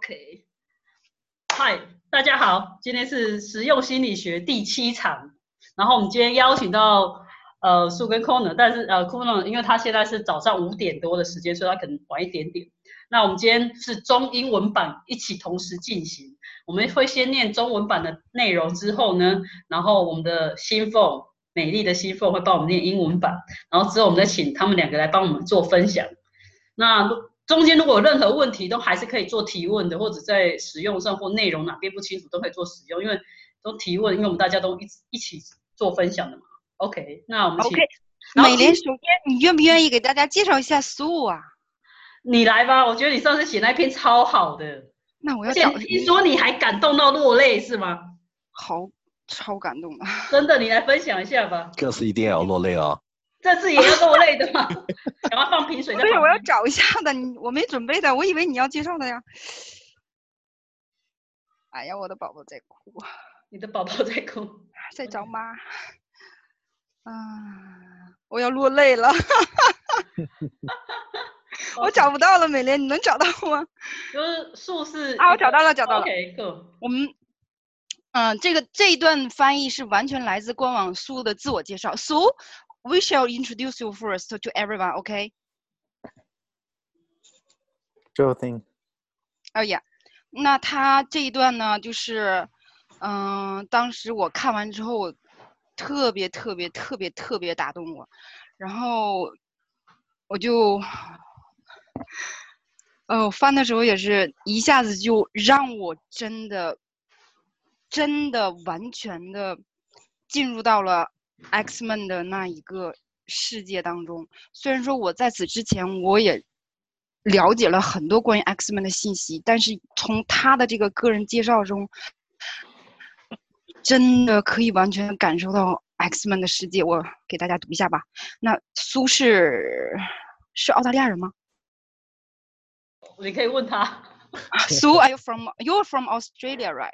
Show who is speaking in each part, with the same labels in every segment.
Speaker 1: OK， 嗨，大家好，今天是实用心理学第7场，然后我们今天邀请到苏跟 Corner， 但是Corner 因为他现在是早上5点多的时间，所以他可能晚一点点。那我们今天是中英文版一起同时进行，我们会先念中文版的内容之后呢，然后我们的新凤美丽的新凤会帮我们念英文版，然后之后我们再请他们2个来帮我们做分享。那中间如果有任何问题，都还是可以做提问的，或者在使用上或内容哪边不清楚，都可以做使用，因为都提问，因为我们大家都一起做分享的嘛。OK， 那我们请。
Speaker 2: OK， 美莲，首先你愿不愿意给大家介绍一下苏啊？
Speaker 1: 你来吧，我觉得你上次写那篇超好的。
Speaker 2: 那我要找。
Speaker 1: 听说你还感动到落泪是吗？
Speaker 2: 好，超感动的。
Speaker 1: 真的，你来分享一下吧。
Speaker 3: 这次一定要落泪哦。
Speaker 1: 这次也要落泪的吗？赶快放瓶水在旁边。
Speaker 2: 对，我要找一下的，我没准备的，我以为你要介绍的呀。哎呀，我的宝宝在哭。
Speaker 1: 你的宝宝在哭，
Speaker 2: 在找妈。我要落泪了。我找不到了，美莲，你能找到吗？
Speaker 1: 就是数是
Speaker 2: 啊，我找到了。
Speaker 1: OK， cool。
Speaker 2: 我们，这一段翻译是完全来自官网苏的自我介绍。苏 ，We shall introduce you first to everyone, OK?
Speaker 3: Sure thing.
Speaker 2: 哦呀，那他这一段呢，就是，当时我看完之后，特别打动我，然后我就，翻的时候也是一下子就让我真的完全的进入到了 X-Men 的那一个世界当中。虽然说我在此之前我也了解了很多关于 X-Men 的信息，但是从他的这个个人介绍中，真的可以完全感受到 X-Men 的世界。我给大家读一下吧。那苏是澳大利亚人吗？
Speaker 1: 你可以问他。
Speaker 2: 苏 you're from Australia, right?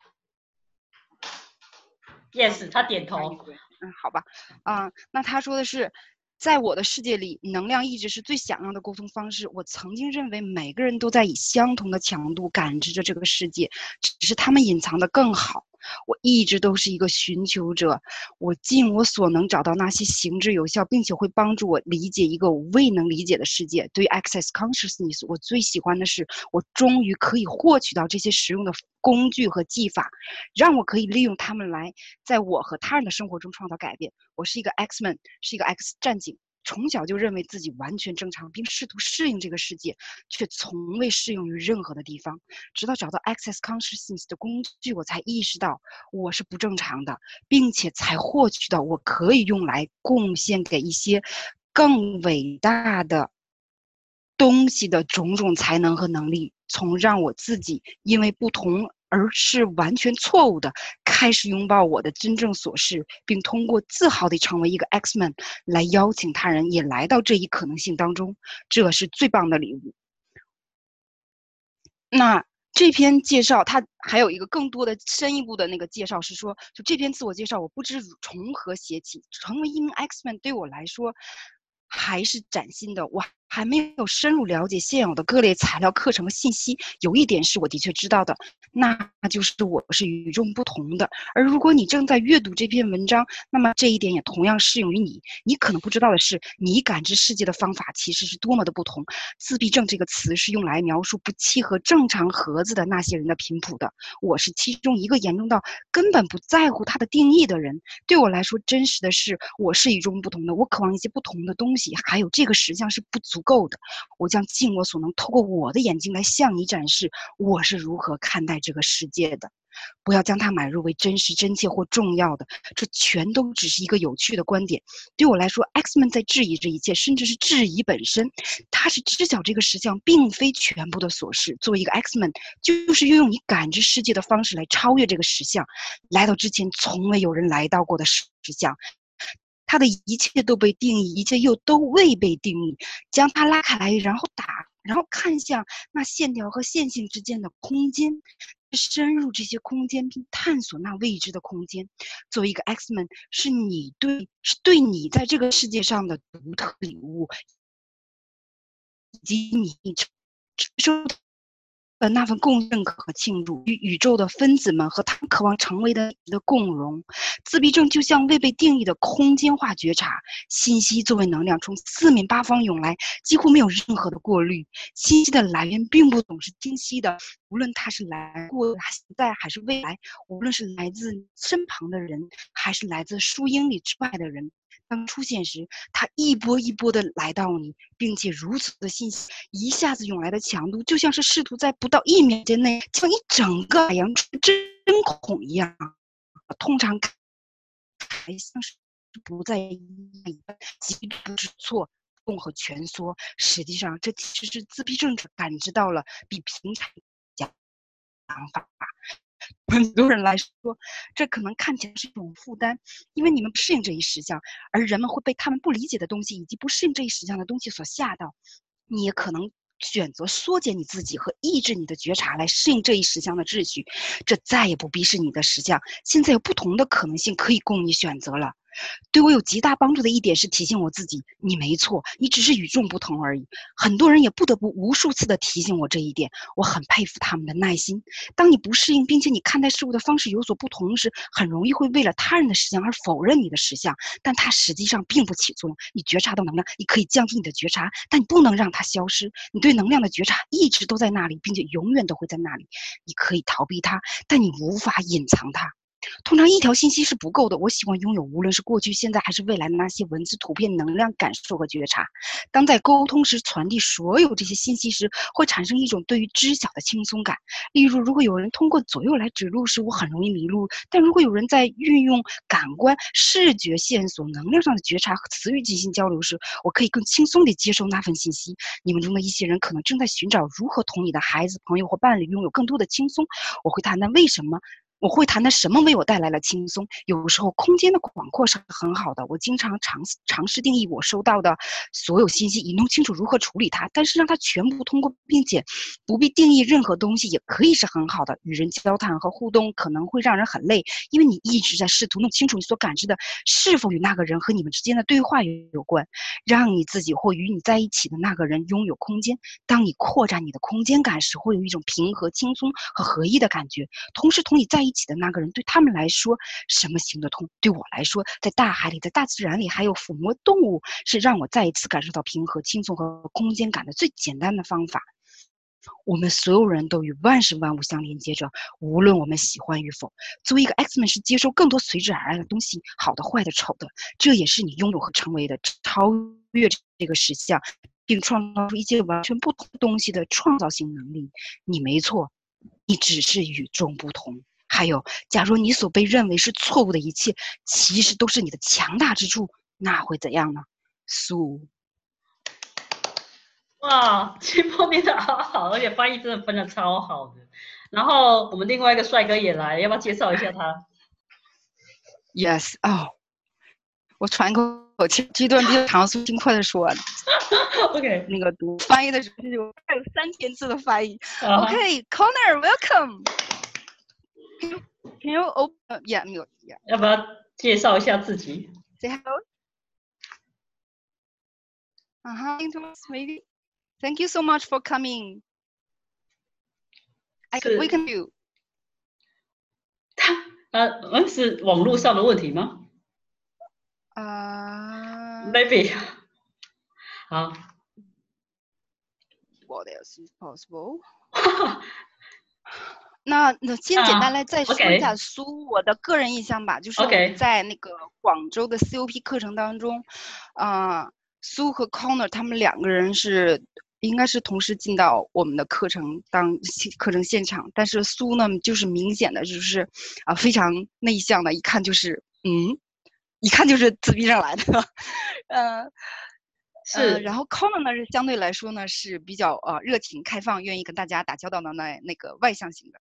Speaker 1: Yes， 他点头。
Speaker 2: 好吧。那他说的是，在我的世界里，能量一直是最响亮的沟通方式。我曾经认为每个人都在以相同的强度感知着这个世界，只是他们隐藏的更好。我一直都是一个寻求者，我尽我所能找到那些行之有效，并且会帮助我理解一个我未能理解的世界。对于 Access Consciousness， 我最喜欢的是，我终于可以获取到这些实用的工具和技法，让我可以利用它们来在我和他人的生活中创造改变。我是一个 X-Man， 是一个 X 战警。从小就认为自己完全正常，并试图适应这个世界，却从未适用于任何的地方。直到找到 Access Consciousness 的工具，我才意识到我是不正常的，并且才获取到我可以用来贡献给一些更伟大的东西的种种才能和能力，从让我自己因为不同而是完全错误的，开始拥抱我的真正所是，并通过自豪地成为一个 X-Man 来邀请他人也来到这一可能性当中，这是最棒的礼物。那这篇介绍它还有一个更多的深一步的那个介绍是说，就这篇自我介绍我不知从何写起，成为一名 X-Man 对我来说还是崭新的，我还没有深入了解现有的各类材料、课程和信息。有一点是我的确知道的，那就是我是与众不同的。而如果你正在阅读这篇文章，那么这一点也同样适用于你。你可能不知道的是，你感知世界的方法其实是多么的不同。自闭症这个词是用来描述不契合正常盒子的那些人的频谱的。我是其中一个严重到根本不在乎它的定义的人。对我来说，真实的是我是与众不同的，我渴望一些不同的东西，还有这个实相是不足够的。我将尽我所能透过我的眼睛来向你展示我是如何看待这个世界的。不要将它买入为真实、真切或重要的，这全都只是一个有趣的观点。对我来说 ，X-Men 在质疑这一切，甚至是质疑本身。它是知晓这个实相并非全部的琐事。作为一个 X-Men， 就是运用你感知世界的方式来超越这个实相，来到之前从未有人来到过的实相。它的一切都被定义，一切又都未被定义，将它拉开来，然后看向那线条和线性之间的空间，深入这些空间并探索那未知的空间。作为一个 X-Men， 是对你在这个世界上的独特礼物，以及你受那份共认可和庆祝，与宇宙的分子们和他们渴望成为的共融。自闭症就像未被定义的空间化觉察，信息作为能量从四面八方涌来，几乎没有任何的过滤。信息的来源并不总是清晰的，无论它是来过、现在还是未来，无论是来自身旁的人，还是来自数英里之外的人。当出现时，它一波一波的来到你，并且如此的信息一下子涌来的强度，就像是试图在不到1秒间内将一整个海洋针孔一样。通常还像是不在意极不知错动和蜷缩，实际上这其实是自闭症者感知到了比平常想法。很多人来说，这可能看起来是一种负担，因为你们不适应这一实相，而人们会被他们不理解的东西以及不适应这一实相的东西所吓到。你也可能选择缩减你自己和抑制你的觉察来适应这一实相的秩序，这再也不必是你的实相。现在有不同的可能性可以供你选择了。对我有极大帮助的一点是提醒我自己，你没错，你只是与众不同而已。很多人也不得不无数次的提醒我这一点，我很佩服他们的耐心。当你不适应，并且你看待事物的方式有所不同时，很容易会为了他人的实相而否认你的实相，但它实际上并不起作用。你觉察到能量，你可以降低你的觉察，但你不能让它消失。你对能量的觉察一直都在那里，并且永远都会在那里。你可以逃避它，但你无法隐藏它。通常一条信息是不够的，我喜欢拥有无论是过去、现在还是未来的那些文字、图片、能量、感受和觉察。当在沟通时传递所有这些信息时，会产生一种对于知晓的轻松感。例如，如果有人通过左右来指路时，我很容易迷路；但如果有人在运用感官、视觉线索、能量上的觉察和词语进行交流时，我可以更轻松地接受那份信息。你们中的一些人可能正在寻找如何同你的孩子、朋友或伴侣拥有更多的轻松。我会谈谈为什么。我会谈谈什么为我带来了轻松。有时候空间的广阔是很好的，我经常尝试定义我收到的所有信息，以弄清楚如何处理它。但是让它全部通过，并且不必定义任何东西，也可以是很好的。与人交谈和互动可能会让人很累，因为你一直在试图弄清楚你所感知的是否与那个人和你们之间的对话有关，让你自己或与你在一起的那个人拥有空间。当你扩展你的空间感时，会有一种平和、轻松和合一的感觉。同时同你在一起的那个人，对他们来说什么行得通？对我来说，在大海里、在大自然里，还有抚摸动物，是让我再一次感受到平和、轻松和空间感的最简单的方法。我们所有人都与万事万物相连接着，无论我们喜欢与否。作为一个 X-Men 是接受更多随之而来的东西，好的、坏的、丑的，这也是你拥有和成为的超越这个实相，并创造出一切完全不同东西的创造性能力。你没错，你只是与众不同。还有，假如你所被认为是错误的一切，其实都是你的强大之处，那会怎样呢？苏，
Speaker 1: 哇，清风念得好好，而且翻译真的分得超好的。然后我们另外一个帅哥也来，要不要介绍一下他
Speaker 2: Yes， 哦，我喘口气，这段比较长，所以尽快的说。
Speaker 1: ？OK，
Speaker 2: 那个读翻译的时候有3000字的翻译。OK，Connor，welcome。Can you open? Yeah, mute. Yeah.
Speaker 1: 要不要介绍一下自己
Speaker 2: Say hello. Maybe. Thank you so much for coming. I can welcome you.
Speaker 1: 是网络上的问题吗？Maybe 好。
Speaker 2: What else is possible? 那先简单来再说一下苏我的个人印象吧，就是我们在那个广州的 COP 课程当中，苏和 Connor 他们两个人应该是同时进到我们的课程现场，但是苏呢就是明显的就是非常内向的，一看就是自闭症来的，然后 Connor 呢是相对来说呢是比较热情开放，愿意跟大家打交道的那个外向型的。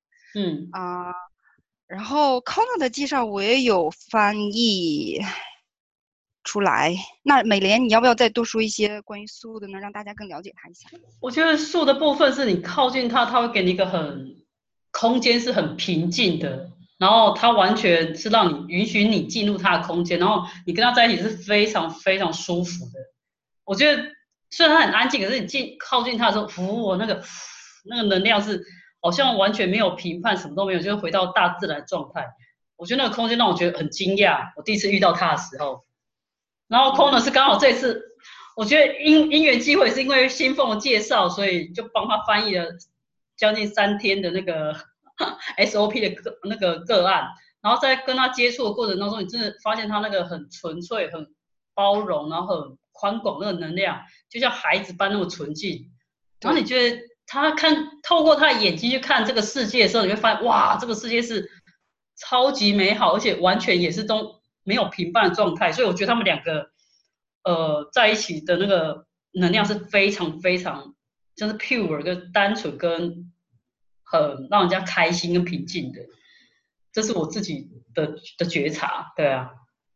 Speaker 2: 然后 Connor 的介绍我也有翻译出来。那美莲，你要不要再多说一些关于苏的呢，让大家更了解他一下？
Speaker 1: 我觉得树的部分是你靠近它，它会给你一个空间是很平静的，然后它完全是让你允许你进入它的空间，然后你跟它在一起是非常非常舒服的。我觉得虽然它很安静，可是你靠近它的时候，那个能量是好像完全没有评判，什么都没有，就是回到大自然状态。我觉得那个空间让我觉得很惊讶，我第一次遇到他的时候。然后 Corner 是刚好这一次，我觉得因缘机会是因为新凤的介绍，所以就帮他翻译了将近3天的那个SOP 的那个个案。然后在跟他接触的过程当中，你真的发现他那个很纯粹、很包容，然后很宽广那个能量，就像孩子般那么纯净。然后你觉得他透过他的眼睛去看这个世界的时候，你会发现哇，这个世界是超级美好，而且完全也是都没有评判的状态。所以我觉得他们两个在一起的那个能量是非常非常就是 pure 跟单纯跟很让人家开心跟平静的。这是我自己的觉察，对啊。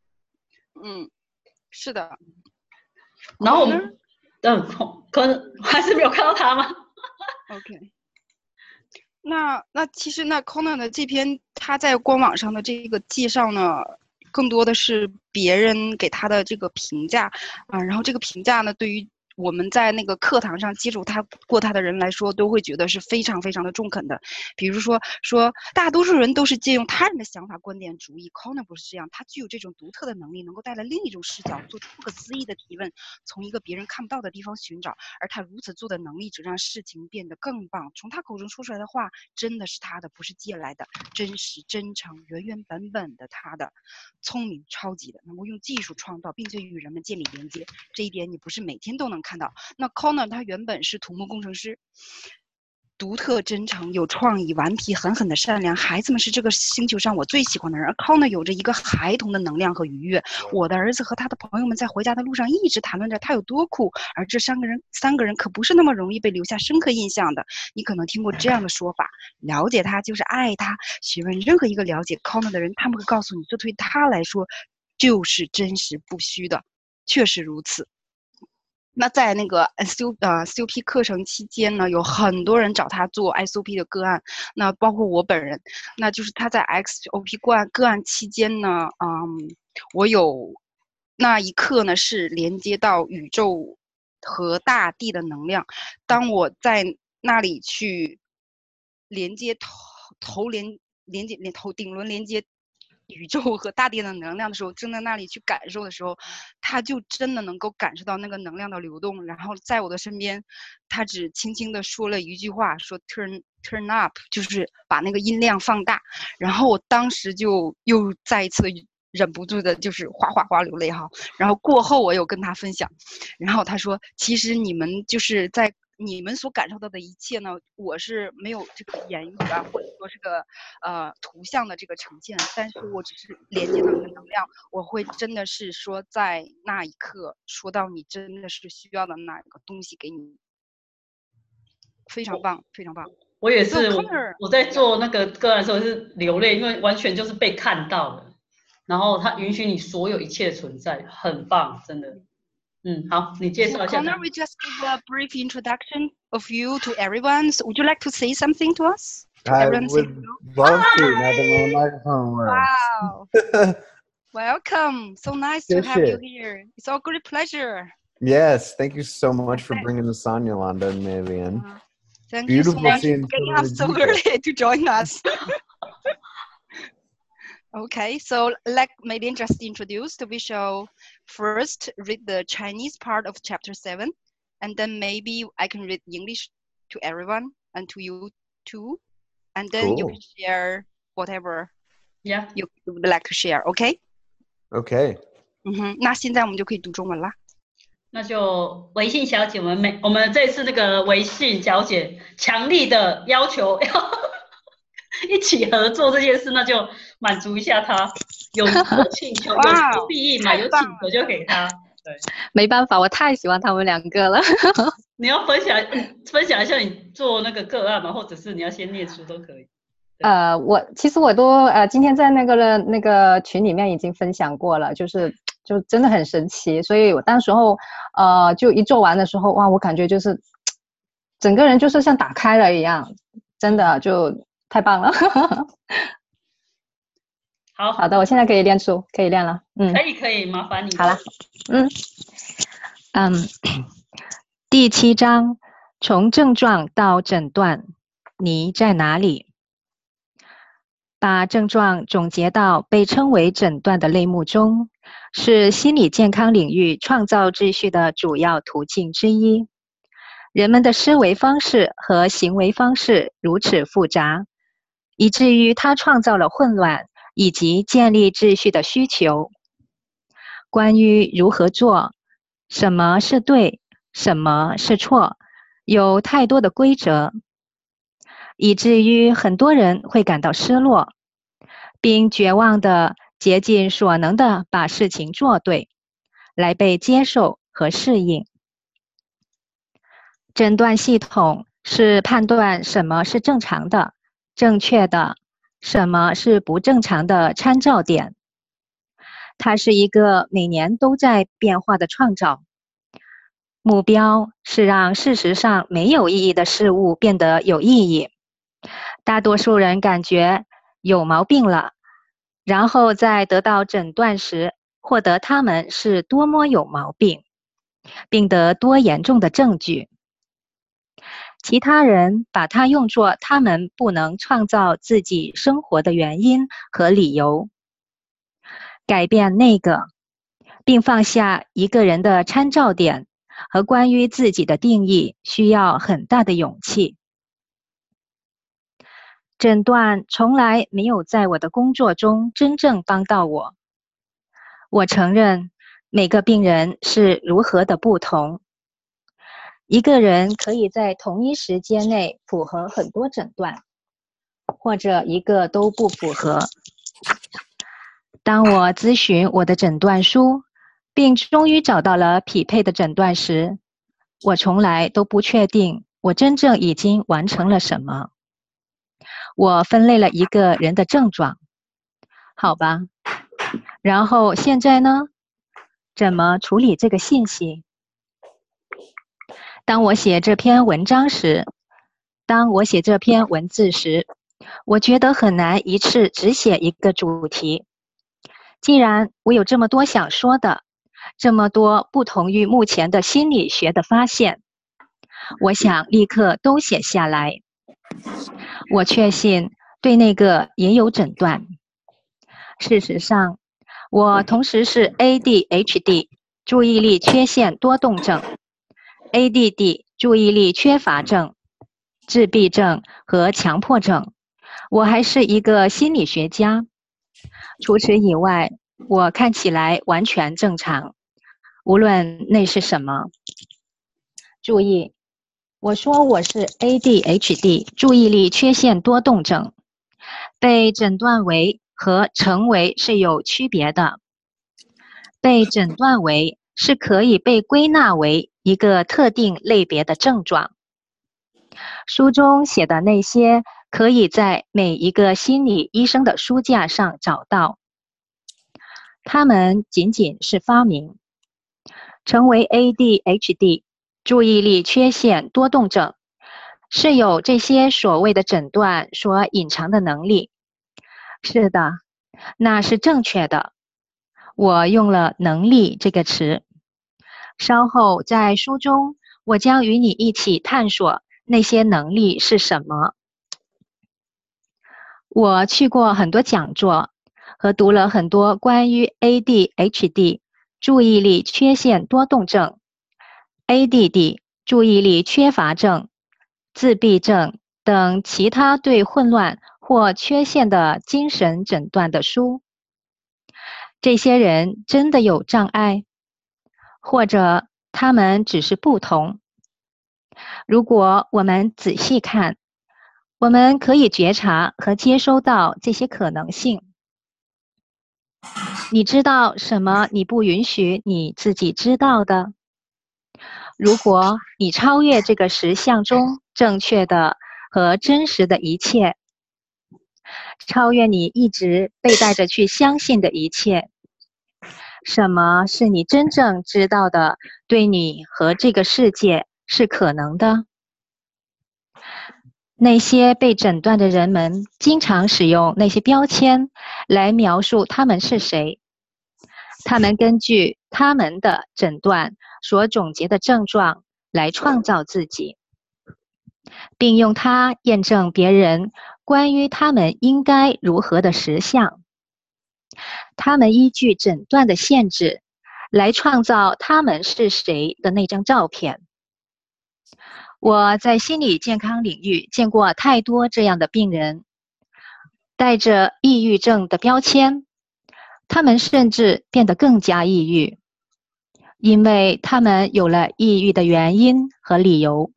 Speaker 2: 是的。
Speaker 1: 然后我们可能还是没有看到他吗
Speaker 2: ？OK。那其实那 Conan 的这篇他在官网上的这个介绍呢，更多的是别人给他的这个评价啊，然后这个评价呢，对于我们在那个课堂上接触过他的人来说，都会觉得是非常非常的中肯的。比如说大多数人都是借用他人的想法、观点、主意 ，Conan 不是这样，他具有这种独特的能力，能够带来另一种视角，做出不可思议的提问，从一个别人看不到的地方寻找。而他如此做的能力，只让事情变得更棒。从他口中说出来的话，真的是他的，不是借来的，真实、真诚、原原本本的他的。聪明、超级的，能够用技术创造，并且与人们建立连接，这一点你不是每天都能看到。那 Conan 他原本是土木工程师，独特、真诚、有创意、顽皮、狠狠的善良。孩子们是这个星球上我最喜欢的人，而 Conan 有着一个孩童的能量和愉悦。我的儿子和他的朋友们在回家的路上一直谈论着他有多酷，而这三个人可不是那么容易被留下深刻印象的。你可能听过这样的说法：了解他就是爱他。询问任何一个了解 Conan 的人，他们会告诉你，这对他来说就是真实不虚的，确实如此。那在那个 SOP 课程期间呢，有很多人找他做 SOP 的个案，那包括我本人。那就是他在 SOP 个案期间呢，我有那一刻呢是连接到宇宙和大地的能量。当我在那里去连接顶轮连接宇宙和大地的能量的时候，正在那里去感受的时候，他就真的能够感受到那个能量的流动。然后在我的身边，他只轻轻地说了一句话，说 turn up， 就是把那个音量放大。然后我当时就又再一次忍不住的就是哗哗哗流泪哈。然后过后我有跟他分享，然后他说，其实你们就是在你们所感受到的一切呢，我是没有这个言语啊，或者说这个图像的这个呈现，但是我只是连接到你的能量，我会真的是说在那一刻说到你真的是需要的那个东西给你，非常棒，非常棒。
Speaker 1: 我也是，我在做那个个案的时候是流泪，因为完全就是被看到了，然后他允许你所有一切存在，很棒，真的。好，你介绍一下。
Speaker 2: Connor, we just give a brief introduction of you to everyone. So would you like to say something to us?
Speaker 4: I would love to. Now that my microphone works.
Speaker 2: Wow. Welcome. So nice to have you here. It's a great pleasure.
Speaker 4: Yes. Thank you so much for bringing us on, Yolanda and Mavian.
Speaker 2: Thank you so much for getting up so early to join us. Okay, so like Mavian just introduced, we shall first read the Chinese part of chapter 7, and then maybe I can read English to everyone and to you too, and then you can share whatever you would like to share. Okay?
Speaker 4: Okay.
Speaker 2: 那现在我们就可以读中文啦。
Speaker 1: 那就微信小姐，我们这次那个微信小姐强力的要求要一起合作这件事，那就满足一下她，有请求有求必应嘛，有请求就给她。对，
Speaker 5: 没办法，我太喜欢他们两个了。
Speaker 1: 你要分享一下你做那个个案吗？或者是你要先念书都可以。
Speaker 5: 其实我都今天在那个群里面已经分享过了，就真的很神奇，所以我当时候就一做完的时候，哇，我感觉就是整个人就是像打开了一样，真的就太棒了。好的，我现在可以练书，可以练了。
Speaker 1: 可以，麻烦你。
Speaker 5: 好了，第7章，从症状到诊断。 你在哪里？把症状总结到被称为诊断的类目中，是心理健康领域创造秩序的主要途径之一。人们的思维方式和行为方式如此复杂，以至于它创造了混乱以及建立秩序的需求。关于如何做，什么是对，什么是错，有太多的规则，以至于很多人会感到失落，并绝望地竭尽所能地把事情做对，来被接受和适应。诊断系统是判断什么是正常的、正确的，什么是不正常的参照点。它是一个每年都在变化的创造，目标是让事实上没有意义的事物变得有意义。大多数人感觉有毛病了，然后在得到诊断时获得他们是多么有毛病，并得多严重的证据。其他人把它用作他们不能创造自己生活的原因和理由。改变那个，并放下一个人的参照点和关于自己的定义，需要很大的勇气。诊断从来没有在我的工作中真正帮到我。我承认每个病人是如何的不同。一个人可以在同一时间内符合很多诊断，或者一个都不符合。当我咨询我的诊断书，并终于找到了匹配的诊断时，我从来都不确定我真正已经完成了什么。我分类了一个人的症状，好吧，然后现在呢？怎么处理这个信息？当我写这篇文章时，当我写这篇文字时，我觉得很难一次只写一个主题。既然我有这么多想说的，这么多不同于目前的心理学的发现，我想立刻都写下来。我确信对那个也有诊断。事实上，我同时是 ADHD 注意力缺陷多动症、ADD 注意力缺乏症、自闭症和强迫症。我还是一个心理学家。除此以外，我看起来完全正常，无论那是什么。注意，我说我是 ADHD 注意力缺陷多动症，被诊断为和成为是有区别的。被诊断为是可以被归纳为一个特定类别的症状。书中写的那些可以在每一个心理医生的书架上找到。它们仅仅是发明。成为 ADHD 注意力缺陷多动症是有这些所谓的诊断所隐藏的能力。是的，那是正确的。我用了“能力”这个词。稍后在书中，我将与你一起探索那些能力是什么。我去过很多讲座和读了很多关于 ADHD 注意力缺陷多动症、ADD 注意力缺乏症、自闭症等其他对混乱或缺陷的精神诊断的书。这些人真的有障碍，或者他们只是不同。如果我们仔细看，我们可以觉察和接收到这些可能性。你知道什么你不允许你自己知道的？如果你超越这个实相中正确的和真实的一切，超越你一直被带着去相信的一切，什么是你真正知道的对你和这个世界是可能的？那些被诊断的人们经常使用那些标签来描述他们是谁。他们根据他们的诊断所总结的症状来创造自己。
Speaker 6: 并用它验证别人关于他们应该如何的实相。他们依据诊断的限制来创造他们是谁的那张照片。我在心理健康领域见过太多这样的病人，带着抑郁症的标签，他们甚至变得更加抑郁，因为他们有了抑郁的原因和理由。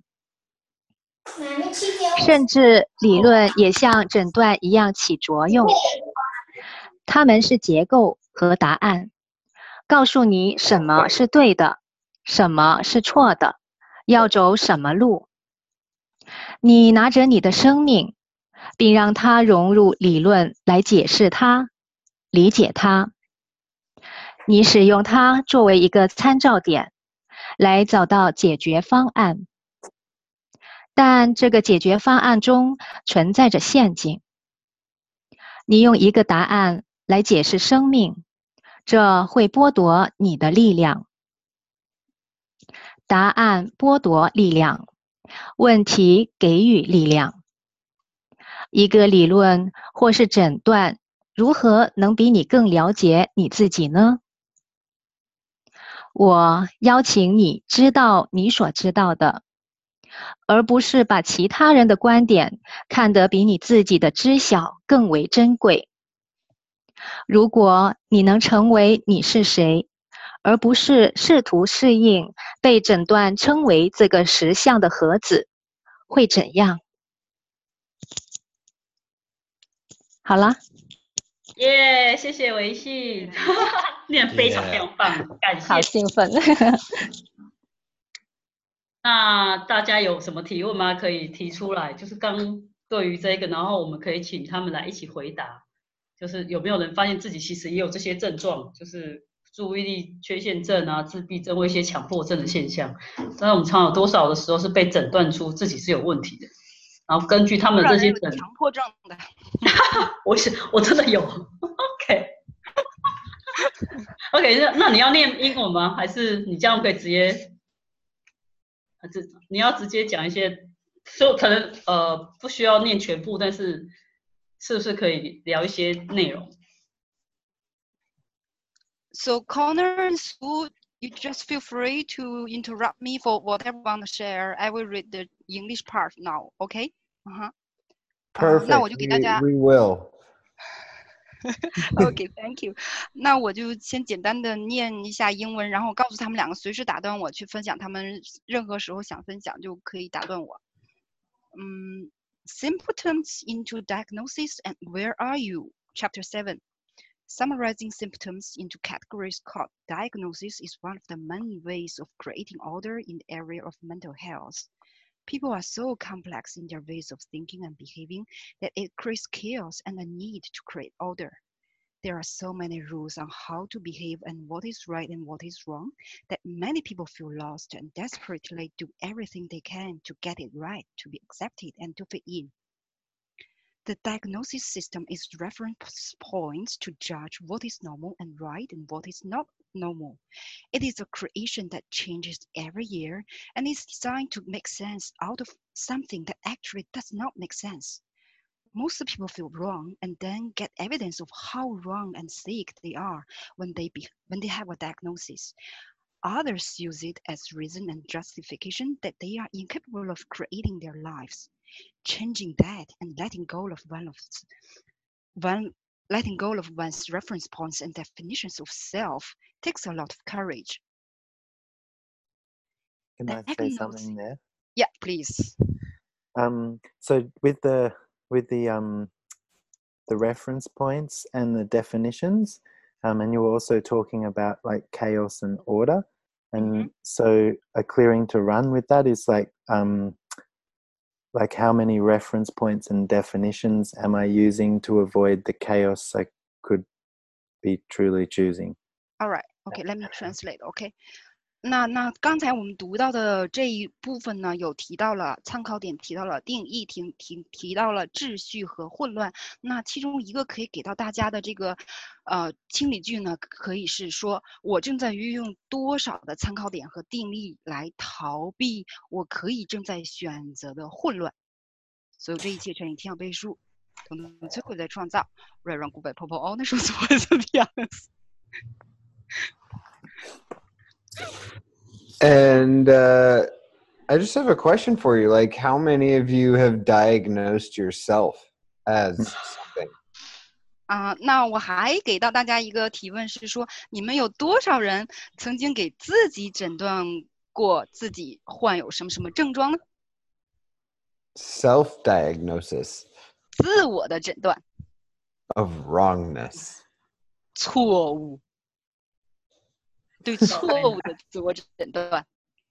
Speaker 6: 甚至理论也像诊断一样起作用，它们是结构和答案，告诉你什么是对的，什么是错的，要走什么路。你拿着你的生命，并让它融入理论来解释它，理解它。你使用它作为一个参照点，来找到解决方案。但这个解决方案中存在着陷阱。你用一个答案来解释生命，这会剥夺你的力量。答案剥夺力量，问题给予力量。一个理论或是诊断，如何能比你更了解你自己呢？我邀请你知道你所知道的，而不是把其他人的观点看得比你自己的知晓更为珍贵。如果你能成为你是谁，而不是试图适应被诊断称为这个实相的盒子，会怎样？好了。
Speaker 1: 耶，谢谢维信，念非常非常棒，感谢。
Speaker 5: 好兴奋。
Speaker 1: 那大家有什么提问吗？可以提出来，就是刚对于这个，然后我们可以请他们来一起回答。就是有没有人发现自己其实也有这些症状，就是注意力缺陷症啊、自闭症或一些强迫症的现象？但是我们常有多少的时候是被诊断出自己是有问题的，然后根据他们的这些
Speaker 2: 强迫症的，
Speaker 1: 我真的有。OK， 那你要念英文吗？还是你这样可以直接？你要直接讲一些，所以可能不需要念全部，但是是不是可以聊一些内容
Speaker 2: ？So Connor and Sue, you just feel free to interrupt me for whatever you want to share. I will read the English part now. OK?
Speaker 4: Perfect.
Speaker 2: 那我就给大家
Speaker 4: We will.
Speaker 2: OK, thank you. 那我就先简单的念一下英文，然后告诉他们两个随时打断我去分享，他们任何时候想分享就可以打断我。Symptoms into diagnosis and where are you? Chapter 7. Summarizing symptoms into categories called diagnosis is one of the main ways of creating order in the area of mental health. People are so complex in their ways of thinking and behaving that it creates chaos and a need to create order. There are so many rules on how to behave and what is right and what is wrong that many people feel lost and desperately do everything they can to get it right, to be accepted, and to fit in. The diagnosis system is reference points to judge what is normal and right and what is not normal. It is a creation that changes every year and is designed to make sense out of something that actually does not make sense. Most people feel wrong and then get evidence of how wrong and sick they are when they have a diagnosis. Others use it as reason and justification that they are incapable of creating their lives. Changing that and letting go of one's reference points and definitions of self takes a lot of courage.
Speaker 3: Can I say something there?
Speaker 2: Yeah, please.
Speaker 3: So with the reference points and the definitions, and you were also talking about like chaos and order, and so a clearing to run with that is like how many reference points and definitions am I using to avoid the chaos I could be truly choosing?
Speaker 2: All right. Okay, let me translate. Okay. 那刚才我们读到的这一部分呢，有提到了参考点，提到了定义，提到了秩序和混乱。那其中一个可以给到大家的这个清理句呢，可以是说我正在运用多少的参考点和定义来逃避我可以正在选择的混乱。所有这一切乘以天要背书，统统摧毁在创造，瑞让古北婆婆哦，那时候怎么会这么样子？
Speaker 7: And I just have a question for you. Like, how many of you have diagnosed yourself as something?
Speaker 2: 那我还给到大家一个提问是说，你们有多少人曾经给自己诊断过自己患有什么什么症状呢？
Speaker 7: Self-diagnosis
Speaker 2: 自我的诊断，
Speaker 7: of wrongness.
Speaker 2: 错误，对错误的自我诊断。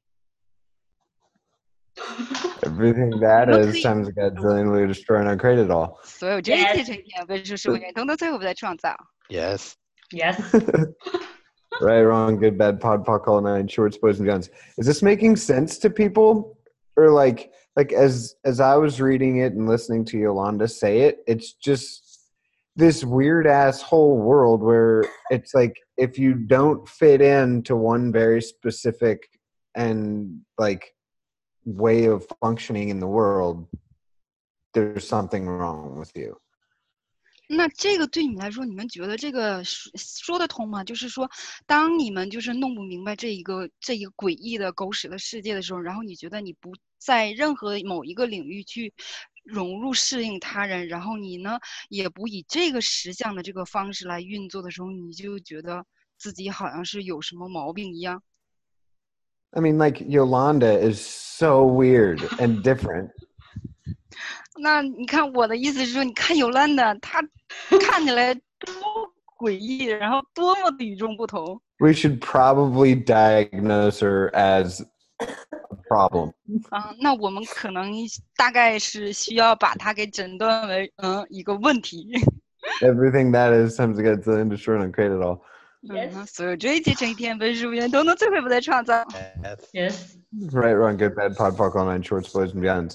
Speaker 7: Everything that is times Godzilla destroy and uncreate it all.
Speaker 2: 所有这一切乘以天要背书，是我愿统统摧毁不再创造。
Speaker 4: Yes.
Speaker 1: Yes.
Speaker 7: Right, wrong, good, bad, pod, poc, all nine, shorts, boys, and guns. Is this making sense to people? Or like as I was reading it and listening to Yolanda say it, it's just this weird ass whole world where it's like if you don't fit into one very specific and like way of functioning in the world, there's something wrong with you.
Speaker 2: 那这个对你们来说，你们觉得这个说得通吗？就是说，当你们就是弄不明白这一个诡异的狗屎的世界的时候，然后你觉得你不在任何某一个领域去融入适应他人，然后你呢也不以这个实相的这个方式来运作的时候，你就觉得自己好像是有什么毛病一样。
Speaker 7: I mean, like Yolanda is so weird and different.
Speaker 2: 那你看我的意思是说，你看尤兰的，她看起来多诡异，然后多么的与众不同。
Speaker 7: We should probably diagnose her as a problem.
Speaker 2: 那我们可能大概是需要把它给诊断为一个问题。
Speaker 7: Everything that is times Godzilla and destroy and uncreate it all.
Speaker 1: Yes.
Speaker 2: 所有这一切乘以天分数元都能摧毁不再创造。
Speaker 1: Yes.
Speaker 7: Right, wrong, good, bad, pod, poc, all nine, shorts, boys, and guns.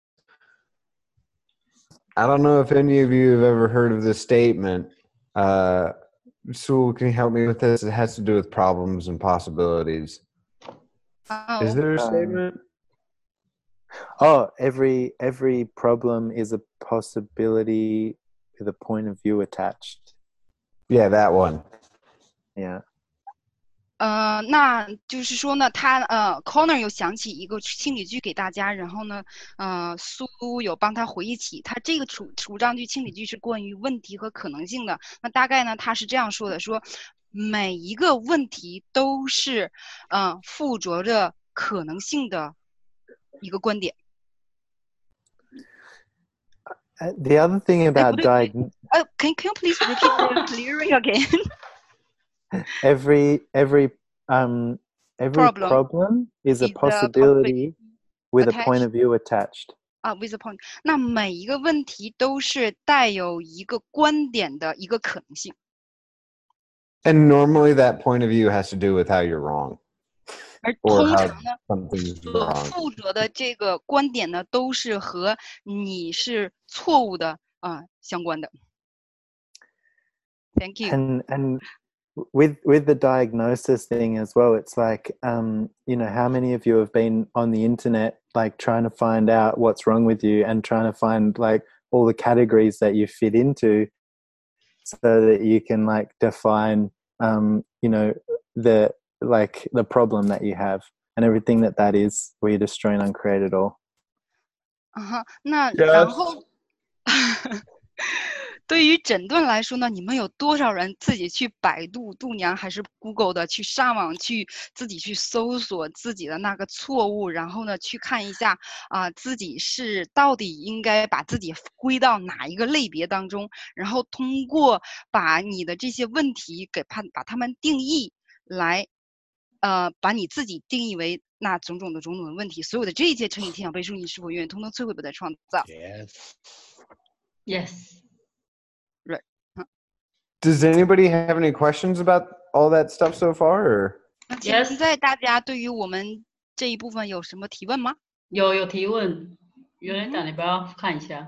Speaker 7: I don't know if any of you have ever heard of this statement. Sewell, can you help me with this? It has to do with problems and possibilities. Is there a statement?
Speaker 3: Oh, every problem is a possibility with a point of view attached.
Speaker 7: Yeah, that one.
Speaker 3: Yeah.
Speaker 2: 那就是说呢，他Connor 有想起一个清理句给大家，然后呢，苏有帮他回忆起，他这个主张句清理句是关于问题和可能性的。那大概呢，他是这样说的：说每一个问题都是附着着可能性的一个观点。
Speaker 3: The other thing about
Speaker 2: can you please repeat the clearing again?
Speaker 3: every problem is a possibility with a point of view attached.
Speaker 2: With a point. 那每一个问题都是带有一个观点的一个可能性。
Speaker 7: And normally that point of view has to do with how you're wrong.
Speaker 2: 而通常呢，
Speaker 7: something's
Speaker 2: 所
Speaker 7: wrong.
Speaker 2: 附着的这个观点呢，都是和你是错误的相关的。Thank you.
Speaker 3: And with the diagnosis thing as well, it's like you know, how many of you have been on the internet like trying to find out what's wrong with you and trying to find like all the categories that you fit into so that you can like define you know, the problem that you have and everything that is, where you destroy and uncreate it all.
Speaker 2: 那然后对于诊断来说呢，你们有多少人自己去百度、度娘还是 Google 的去上网去自己去搜索自己的那个错误，然后呢去看一下自己是到底应该把自己归到哪一个类别当中，然后通过把你的这些问题把它们定义来把你自己定义为那种种的问题，所有的这一切乘以天想背书，你是否愿意通通摧毁不再创造？
Speaker 1: Yes.
Speaker 7: Does anybody have any questions about all that stuff so far? Or?
Speaker 2: 那现
Speaker 1: Yes，
Speaker 2: 在大家对于我们这一部分有什么提问吗？
Speaker 1: 有提问，有人
Speaker 2: 嗯
Speaker 1: 讲，你不要看一下。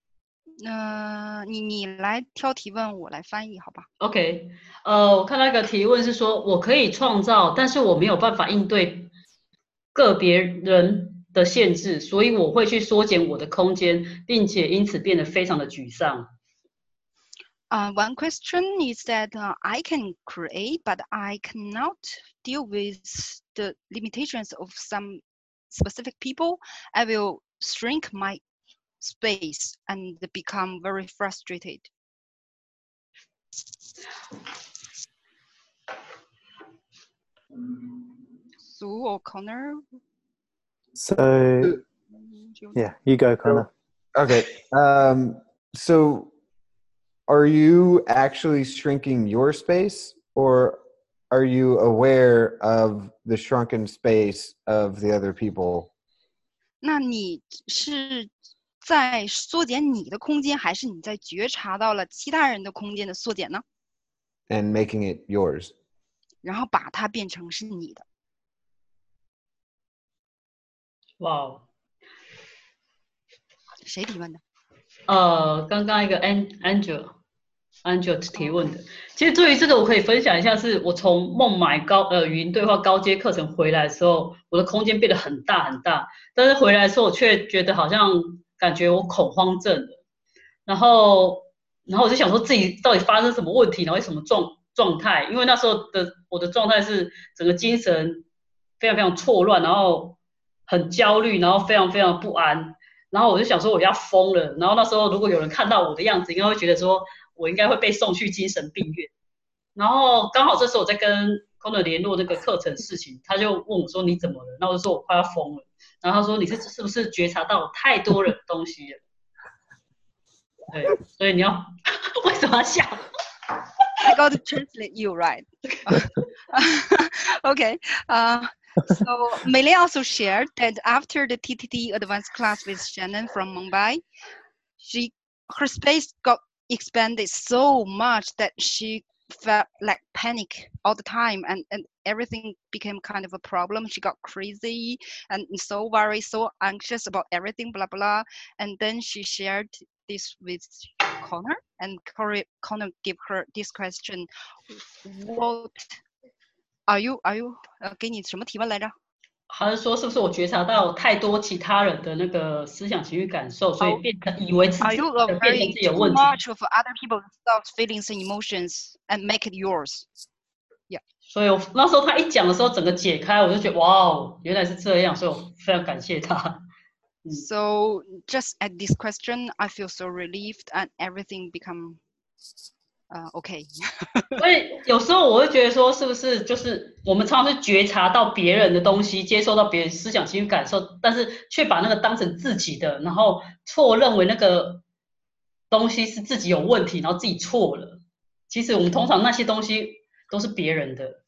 Speaker 2: 你来挑提问，我来翻译，好吧？
Speaker 1: OK，我看到一个提问是说，我可以创造，但是我没有办法应对个别人的限制，所以我会去缩减我的空间，并且因此变得非常的沮丧。
Speaker 2: One question is that I can create, but I cannot deal with the limitations of some specific people. I will shrink my space and become very frustrated. Sue or Connor?
Speaker 3: So yeah, you go, Connor.
Speaker 7: Okay. So are you actually shrinking your space, or are you aware of the shrunken space of the other people?
Speaker 2: 那你是在缩减你的空间，还是你在觉察到了其他人的空间的缩减呢？
Speaker 7: And making it yours.
Speaker 2: 然后把它变成是你的。
Speaker 1: 哇，
Speaker 2: 谁提问的？
Speaker 1: 刚刚一个 Angel 提问的，其实对于这个我可以分享一下，是我从孟买语音对话高阶课程回来的时候，我的空间变得很大很大，但是回来的时候我却觉得好像感觉我恐慌症了，然后我就想说自己到底发生什么问题，然后什么状态，因为那时候我的状态是整个精神非常非常错乱，然后很焦虑，然后非常非常不安。然后我就想说我要疯了，然后那时候如果有人看到我的样子，应该会觉得说我应该会被送去精神病院。然后刚好这时候我在跟 Connor 联络那个课程事情，他就问我说你怎么了？那我就说我快要疯了。然后他说你是不是觉察到太多人的东西了？对，所以你要为什么要笑？
Speaker 2: I got to translate you, right? Okay. So Meili also shared that after the TTT advanced class with Shannon from Mumbai, her space got expanded so much that she felt like panic all the time, and everything became kind of a problem. She got crazy and so worried, so anxious about everything, blah blah. And then she shared this with Connor, and Connor gave her this question: What are you 给你什么提问来着？
Speaker 1: 他是说是不是我觉察到太多其他人的那个思想情绪感受，所以变成以为自
Speaker 2: Are
Speaker 1: 己
Speaker 2: you
Speaker 1: 变成
Speaker 2: aware
Speaker 1: 自己有
Speaker 2: too
Speaker 1: 问题？
Speaker 2: much of other people's thoughts, feelings, and emotions and make it yours?
Speaker 1: 所以我那时候他一讲的时候，整个解开，我就觉得哇哦，原来是这样，所以我非常感谢他。
Speaker 2: So just at this question, I feel so relieved and everything become okay.
Speaker 1: 所以有时候我会觉得说，是不是就是我们常常是觉察到别人的东西，接受到别人思想情绪感受，但是却把那个当成自己的，然后错认为那个东西是自己有问题，然后自己错了。其实我们通常那些东西都是别人的。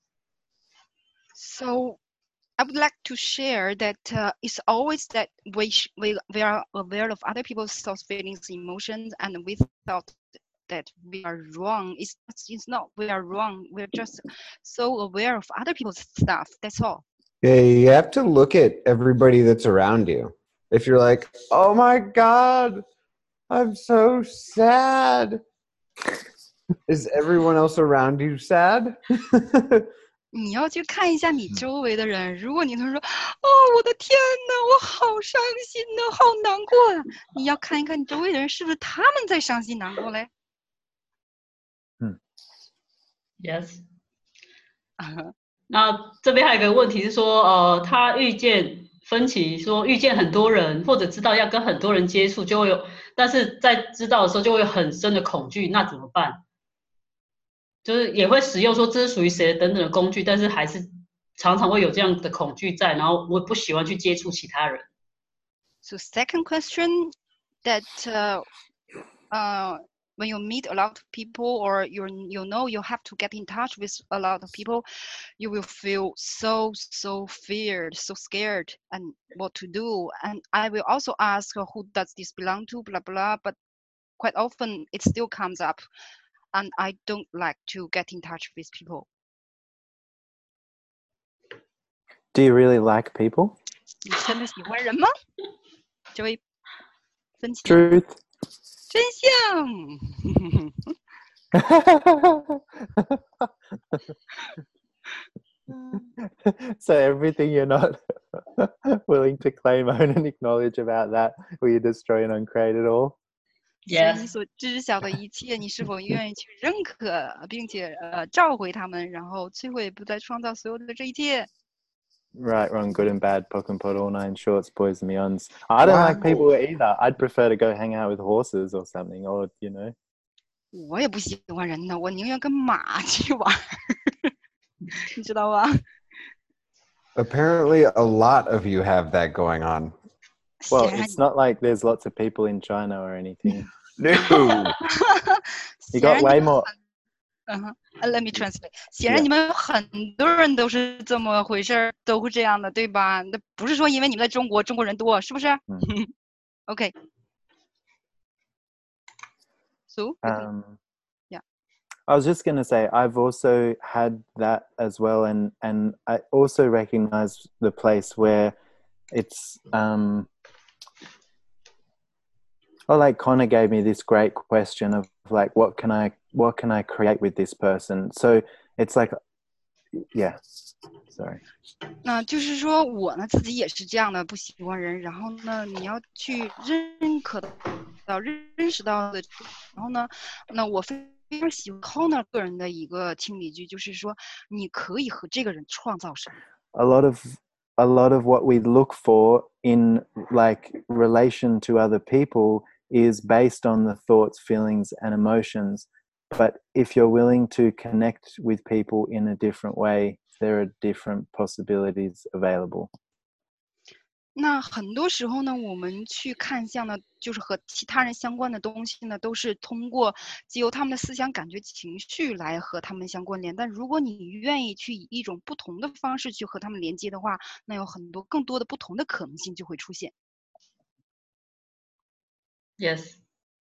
Speaker 2: So I would like to share that it's always that we are aware of other people's thoughts, feelings, emotions, and we thought that we are wrong. It's not we are wrong. We're just so aware of other people's stuff. That's all.
Speaker 7: Yeah, you have to look at everybody that's around you. If you're like, oh my God, I'm so sad. Is everyone else around you sad?
Speaker 2: 你要去看一下你周围的人，如果你能说，哦，我的天哪，我好伤心呐，好难过呀，你要看一看你周围的人是不是他们在伤心难过嘞
Speaker 1: ？Yes 那这边还有一个问题是说，他遇见分歧，说遇见很多人，或者知道要跟很多人接触，就会有，但是在知道的时候就会有很深的恐惧，那怎么办？就是也会使用说这是属于谁等等的工具，但是还是常常会有这样的恐惧在，然后我不喜欢去接触其他人。
Speaker 2: So second question that when you meet a lot of people or you know you have to get in touch with a lot of people, you will feel so feared, so scared, and what to do. And I will also ask who does this belong to, blah blah. But quite often it still comes up, and I don't like to get in touch with people.
Speaker 3: Do you really like people?
Speaker 2: 你真的喜欢人吗？这位分享
Speaker 3: Truth.
Speaker 2: 真相。
Speaker 3: So everything you're not willing to claim, own, and acknowledge about that, will you destroy and uncreate it all?
Speaker 2: 所以你所知晓的一切，你是否愿意去认可，并且召回他们，然后摧毁，不再创造所有的这一切？
Speaker 3: Right, wrong, good and bad, POC and POD, all nine shorts, boys and beyonds. I don't like
Speaker 7: Wow.
Speaker 3: people either. I'd prefer to go hang out with horses or something, or you know.
Speaker 2: 我也不喜欢人呢，我宁愿跟马去玩，你知道吧？
Speaker 7: Apparently, a lot of you have that going on.
Speaker 3: Well,
Speaker 2: 显然
Speaker 3: it's not like there's lots of people in China or anything.
Speaker 7: No.
Speaker 3: You
Speaker 2: 显然
Speaker 3: got
Speaker 2: 你
Speaker 3: way
Speaker 2: 们
Speaker 3: more.
Speaker 2: Let me translate。显然你们很多人都是这么回事儿，都会这样的，对吧？那不是说因为你们在中国，中国人多，是不是？OK。So. Yeah.
Speaker 3: I was just going to say, I've also had that as well, and I also recognize the place where it's like Connor gave me this great question of like, what can I create with this person? So it's like, yeah, sorry.
Speaker 2: 那就是说我呢自己也是这样的，不喜欢人，然后呢你要去认可到、认识到的，然后呢，那我非常喜欢 Connor 个人的一个清理句，就是说你可以和这个人创造什么。
Speaker 3: A lot of what we look for in like relation to other people is based on the thoughts, feelings, and emotions. But if you're willing to connect with people in a different way, there are different possibilities available.
Speaker 2: 那很多时候呢，我们去看向呢，就是和其他人相关的东西呢，都是通过藉由他们的思想、感觉、情绪来和他们相关联。但如果你愿意去以一种不同的方式去和他们连接的话，那有很多更多的不同的可能性就会出现。
Speaker 1: Yes.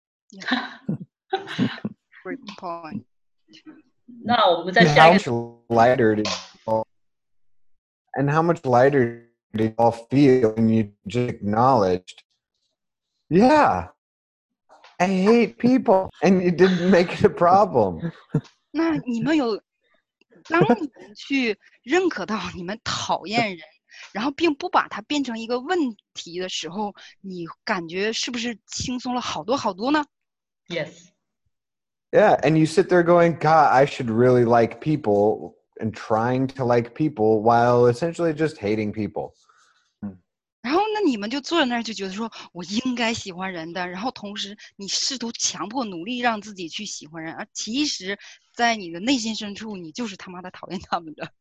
Speaker 2: Great point.
Speaker 1: 那我们再
Speaker 7: And
Speaker 1: 下
Speaker 7: how
Speaker 1: 一个
Speaker 7: much lighter did and how much lighter did you all feel when you just acknowledged, yeah, I hate people, and you didn't make it a problem.
Speaker 2: 那你们有，当你们去认可到你们讨厌人，然后并不把它变成一个问题的时候，你感觉是不是轻松了好多好多呢？
Speaker 1: Yes.
Speaker 7: Yeah, and you sit there going, God, I should really like people, and trying to like people while essentially just hating people.
Speaker 2: 然后呢，你们就坐在那儿就觉得说，我应该喜欢人的，然后同时你试图强迫努力让自己去喜欢人，而其实，在你的内心深处，你就是他妈的讨厌他们的。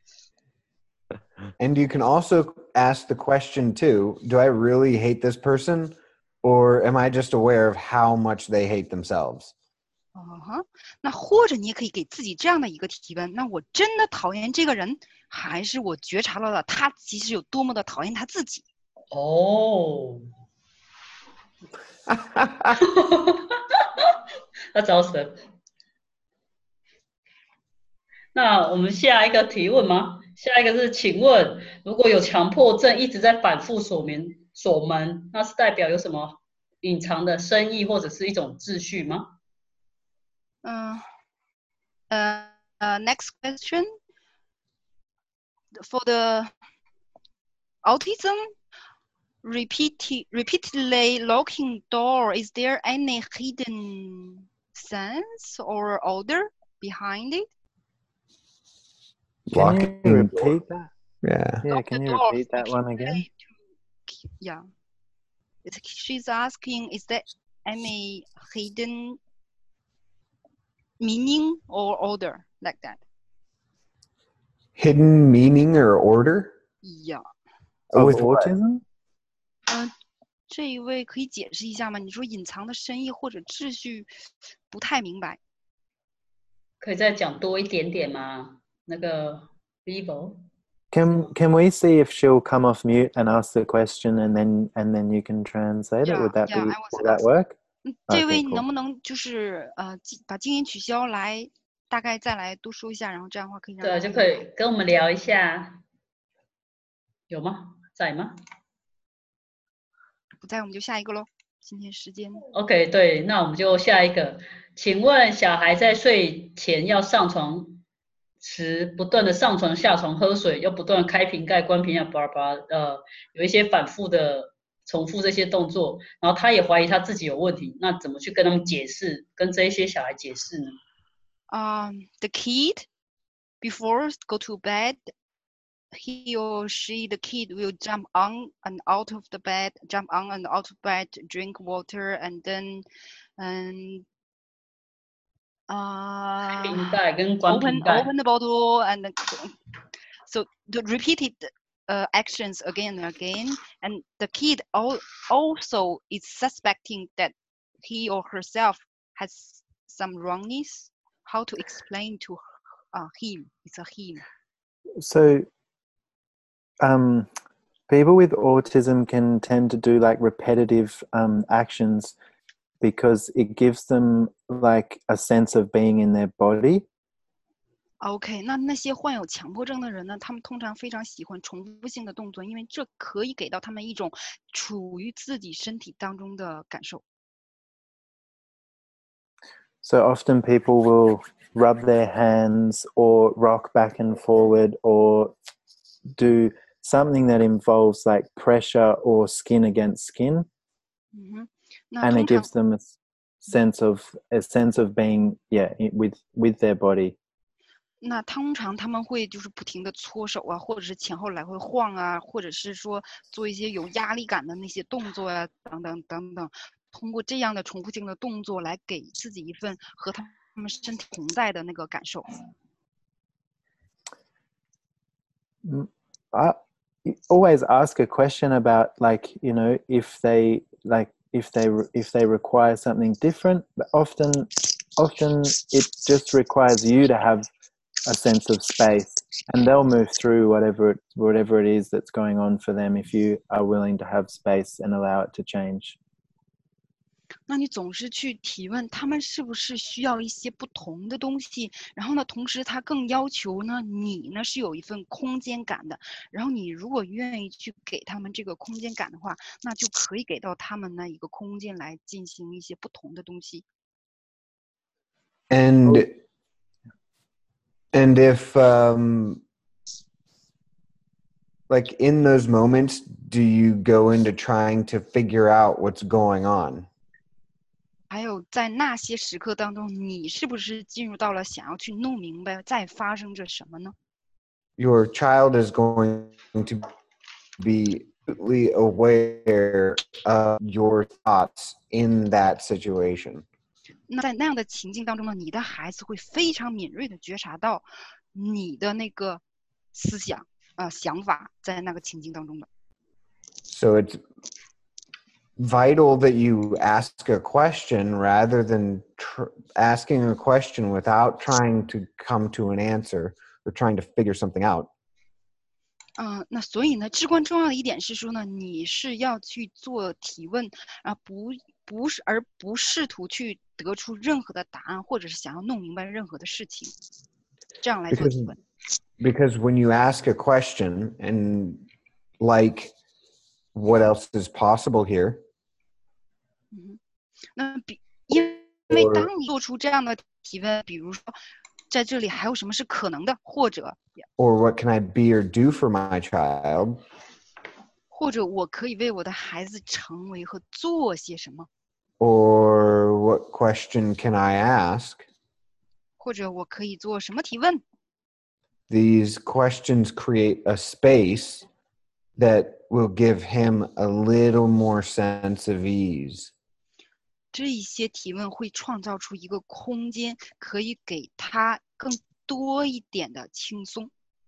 Speaker 7: And you can also ask the question too, do I really hate this person, or am I just aware of how much they hate themselves?
Speaker 2: 那或者你也可以给自己这样的一个提问：那我真的讨厌这个人，还是我觉察到了他其实有多么的讨厌他自己？
Speaker 1: 哦，那找神。那我们下一个提问吗？下一个是，请问如果有强迫症一直在反复锁门，那是代表有什么隐藏的深意或者是一种秩序吗？
Speaker 2: Next question. For the autism, repeatedly locking door, is there any hidden sense or order behind it?
Speaker 3: Can you repeat that?
Speaker 7: Yeah.
Speaker 3: Yeah, can you repeat that one again?
Speaker 2: Yeah. She's asking, is there any hidden meaning or order like that?
Speaker 7: Hidden meaning or order?
Speaker 2: Yeah.
Speaker 3: With
Speaker 7: With what?
Speaker 3: autism?
Speaker 2: 这一位可以解释一下吗？你说隐藏的深意或者秩序，不太明白。
Speaker 1: 可以再讲多一点点吗？那个 Vivo。
Speaker 3: Can we see if she'll come off mute and ask the question, and then you can translate it? Would that work?
Speaker 2: 这位能不能就是把静音取消，来大概再来多说一下，然后这样的话可以让
Speaker 1: 对，就可以跟我们聊一下。 有吗？在吗
Speaker 2: 不在我们就下一个喽。今天时间
Speaker 1: ？OK， 对，那我们就下一个。请问小孩在睡前要上床时，不断的上床下床喝水，又不断地开瓶盖关瓶盖，巴拉巴拉，有一些反复的重复这些动作，然后他也怀疑他自己有问题，那怎么去跟他们解释，跟这一些小孩解释呢
Speaker 2: ？The kid before go to bed, he or she, the kid will jump on and out of the bed, jump on and out of bed, drink water, and then,
Speaker 1: 瓶盖跟关瓶盖
Speaker 2: open the bottle and so the repeated actions again and again, and the kid also is suspecting that he or herself has some wrongness. How to explain to him? It's a him.
Speaker 3: So, people with autism can tend to do like repetitive actions because it gives them like a sense of being in their body.
Speaker 2: OK，那些患有强迫症的人呢，他们通常非常喜欢重复性的动作，因为这可以给到他们一种处于自己身体当中的感受。
Speaker 3: So often people will rub their hands or rock back and forward or do something that involves like pressure or skin against skin. And it gives them a sense of being with their body.
Speaker 2: 那通常他们会就是不停的搓手啊，或者是前后来回晃啊，或者是说做一些有压力感的那些动作啊，等等等等。通过这样的重复性的动作来给自己一份和他们身体同在的那个感受。
Speaker 3: I always ask a question about like, you know, if they require something different. Often it just requires you to have a sense of space, and they'll move through whatever it is that's going on for them if you are willing to have space and allow it to change.
Speaker 2: 那你总是去提问他们是不是需要一些不同的东西，然后呢，同时他更要求呢，你呢是有一份空间感的，然后你如果愿意去给他们这个空间感的话，那就可以给到他们呢一个空间来进行一些不同的东西。
Speaker 7: And if like in those moments, do you go into trying to figure out what's going on?
Speaker 2: 还有在那些时刻当中，你是不是进入到了想要去弄明白在发生着什么呢？
Speaker 7: Your child is going to be completely aware of your thoughts in that situation.
Speaker 2: 那在那样的情境当中呢，你的孩子会非常敏锐的觉察到你的那个思想想法在那个情境当中的。
Speaker 7: So it's vital that you ask a question rather than asking a question without trying to come to an answer or trying to figure something out.
Speaker 2: 那所以呢，至关重要的一点是说呢，你是要去做提问啊，而不试图去得出任何的答案，或者是想要弄明白任何的事情，这样来做提问。
Speaker 7: Because when you ask a question and like what else is possible here?
Speaker 2: 因为当你做出这样的提问，比如说在这里还有什么是可能的，或者
Speaker 7: or what can I be or do for my child?
Speaker 2: 或者我可以为我的孩子成为和做些什么
Speaker 7: or what question can I ask?
Speaker 2: 或者我可以做什么提问
Speaker 7: These questions create a space that will give him a little more sense of ease.
Speaker 2: 这一些提问会创造出一个空间，可以给他更多一点的轻松。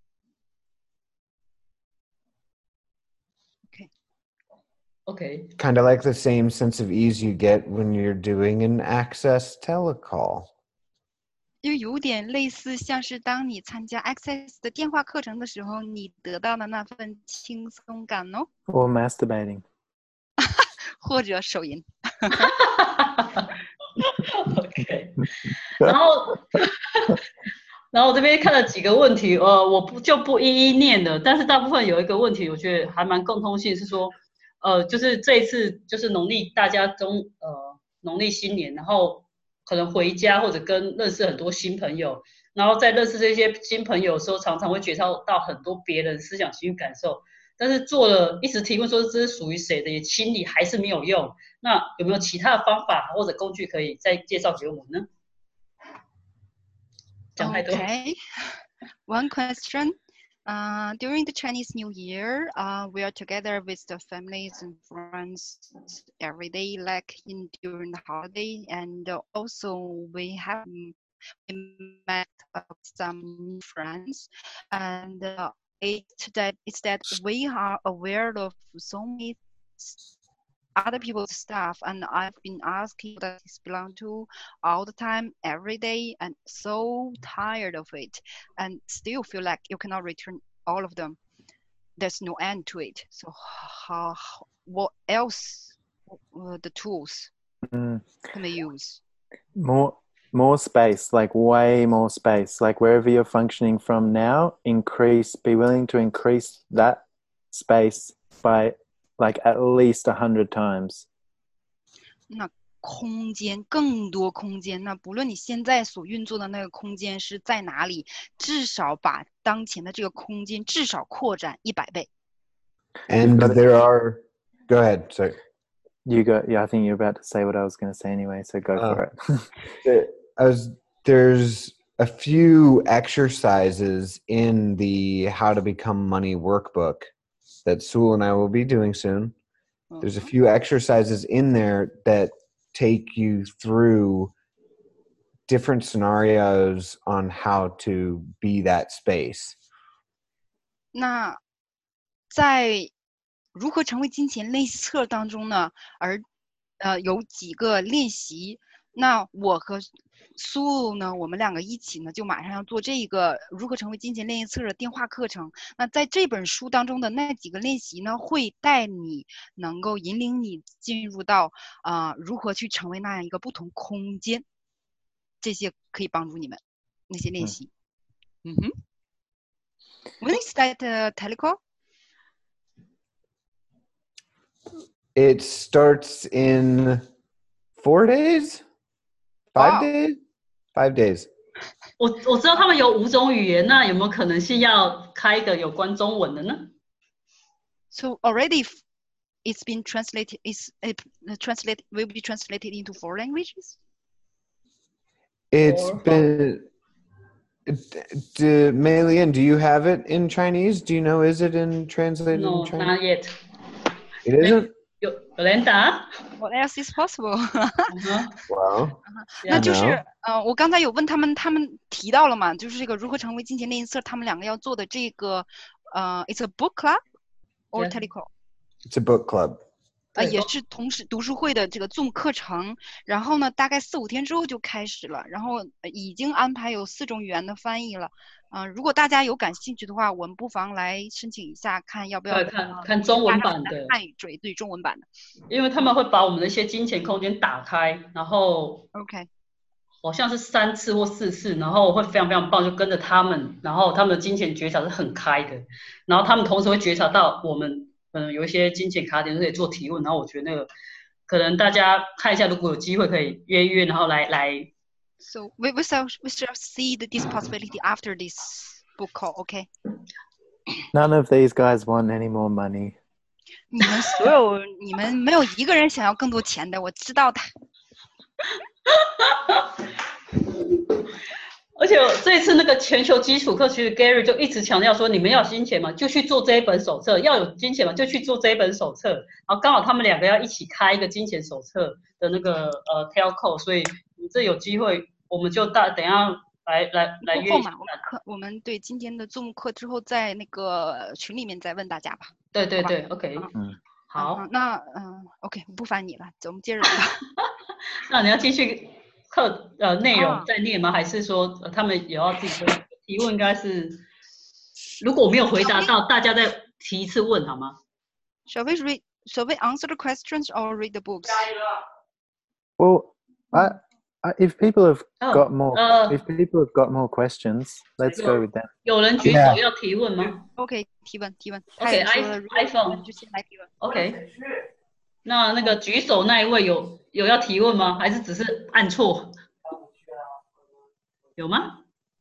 Speaker 1: Okay.
Speaker 7: Kind of like the same sense of ease you get when you're doing an Access telecall.
Speaker 2: 就有点类似，像是当你参加 Access 的电话课程的时候，你得到的那份轻松感哦。
Speaker 3: Or masturbating.
Speaker 2: 或者手淫。
Speaker 1: OK， 然后然后我这边看了几个问题，我不一一念了，但是大部分有一个问题，我觉得还蛮共通性，是说，就是这一次就是农历大家农历新年，然后可能回家或者跟认识很多新朋友，然后在认识这些新朋友的时候，常常会觉察到很多别人思想、情绪、感受，但是做了一直提问说这是属于谁的，也清理还是没有用。那有没有其他的方法或者工具可以再介绍给我们呢？讲太多。
Speaker 2: Okay. One question. During the Chinese New Year, we are together with the families and friends every day, like during the holiday, and also we met some friends, and it's that we are aware of so many other people's stuff, and I've been asking what this belong to all the time, every day, and so tired of it, and still feel like you cannot return all of them. There's no end to it. So what else the tools can they use?
Speaker 3: More space, like way more space, like wherever you're functioning from now, be willing to increase that space by like at least 100 times.
Speaker 2: 那空间，更多空间，那不论你现在所运作的那个空间是在哪里，至少把当前的这个空间至少扩展100倍。
Speaker 7: And there are, go ahead, sorry.
Speaker 3: You go, yeah, I think you're about to say what I was going to say anyway, so go for
Speaker 7: it. There's a few exercises in the How to Become Money workbook that Sewell and I will be doing soon. There's a few exercises in there that take you through different scenarios on how to be that space.
Speaker 2: 那在如何成为金钱练习册当中呢，有几个练习，那我和苏呢，我们两个一起呢，就马上要做这个如何成为金钱练习册的电话课程。那在这本书当中的那几个练习呢，会带你能够引领你进入到如何去成为那样一个不同空间，这些可以帮助你们那些练习。When is that telecall?
Speaker 7: It starts in 4 days? 5 days? 5 days.
Speaker 1: 我知道他们有5种语言，那有没有可能性要开一个有关中文的呢？
Speaker 2: So already it's been translated. Will be translated into 4 languages.
Speaker 7: It's been. Mei Lian, do you have it in Chinese? Do you know? Is it translated in Chinese?
Speaker 1: No, not yet.
Speaker 7: It isn't.
Speaker 1: Yolanda?
Speaker 2: What else is possible?
Speaker 7: Wow.
Speaker 2: 那就是我刚才有问他们提到了嘛，就是这个如何成为金钱练习册，他们两个要做的这个it's a book club or telecall?
Speaker 7: It's a book club.
Speaker 2: 也是同时读书会的这个 Zoom 课程，然后呢，大概4-5天之后就开始了，然后已经安排有4种语言的翻译了。如果大家有感兴趣的话，我们不妨来申请一下，看要不要
Speaker 1: 看中文版的
Speaker 2: 汉语对中文版的，
Speaker 1: 因为他们会把我们的一些金钱空间打开，然后
Speaker 2: OK，
Speaker 1: 好像是3次或4次，然后会非常非常棒，就跟着他们，然后他们的金钱觉察是很开的，然后他们同时会觉察到我们有一些金钱卡点可以做提问，然后我觉得那个可能大家看一下，如果有机会可以约一约，然后来。
Speaker 2: So we shall see this possibility after this book call, okay?
Speaker 3: None of these guys want any more money.
Speaker 2: 你们没有一个人想要更多钱的，我知道的。
Speaker 1: 而且这一次那个全球基础课，其实 Gary 就一直强调说，你们要有金钱嘛，就去做这一本手册；要有金钱嘛，就去做这一本手册。然后刚好他们2个要一起开一个金钱手册的那个telco， 所以这有机会，我们就等一下来约一下。
Speaker 2: 我们对今天的 Zoom 课之后，在那个群里面再问大家吧。
Speaker 1: 对 ，OK， 好。
Speaker 2: 那OK， 不烦你了，走，我们接着聊。
Speaker 1: 那你要继续课内容再念吗？还是说他们也要自己提问？应该是，如果我没有回答到，大家再提一次问好吗
Speaker 2: ？Shall we answer the questions or read the books?
Speaker 3: Well, If people have got
Speaker 1: 哦，
Speaker 3: more, if people have got more questions, let's go with that.
Speaker 1: 有人举手
Speaker 4: Yeah.
Speaker 1: 要提问吗
Speaker 2: OK，提问。他
Speaker 1: ？OK，
Speaker 2: 也说了，如果有提问
Speaker 1: iPhone
Speaker 2: 就先来提问。
Speaker 1: OK，那个举手那一位有要提问吗？还是只是按错？有吗？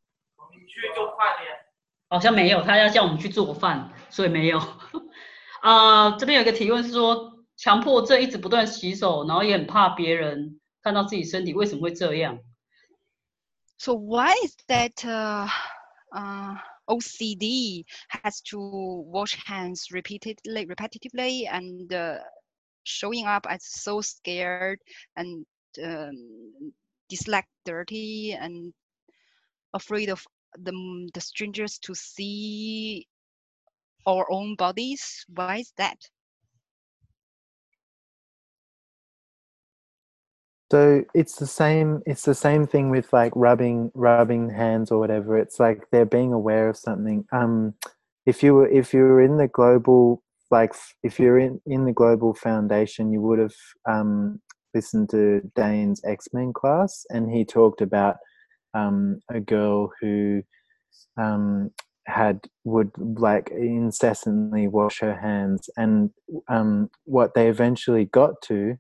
Speaker 1: 好像没有，他要叫我们去做饭，所以没有。这边有个提问是说，强迫症一直不断洗手，然后也很怕别人看到自己身体，为什么会这样？
Speaker 2: So why is that OCD has to wash hands repetitively and showing up as so scared and dislike dirty and afraid of the strangers to see our own bodies? Why is that?
Speaker 3: So it's the same thing with like rubbing hands or whatever. It's like they're being aware of something. If you were in the global, like if you're in the global foundation, you would have listened to Dane's X-Men class, and he talked about a girl who would like incessantly wash her hands, and what they eventually got to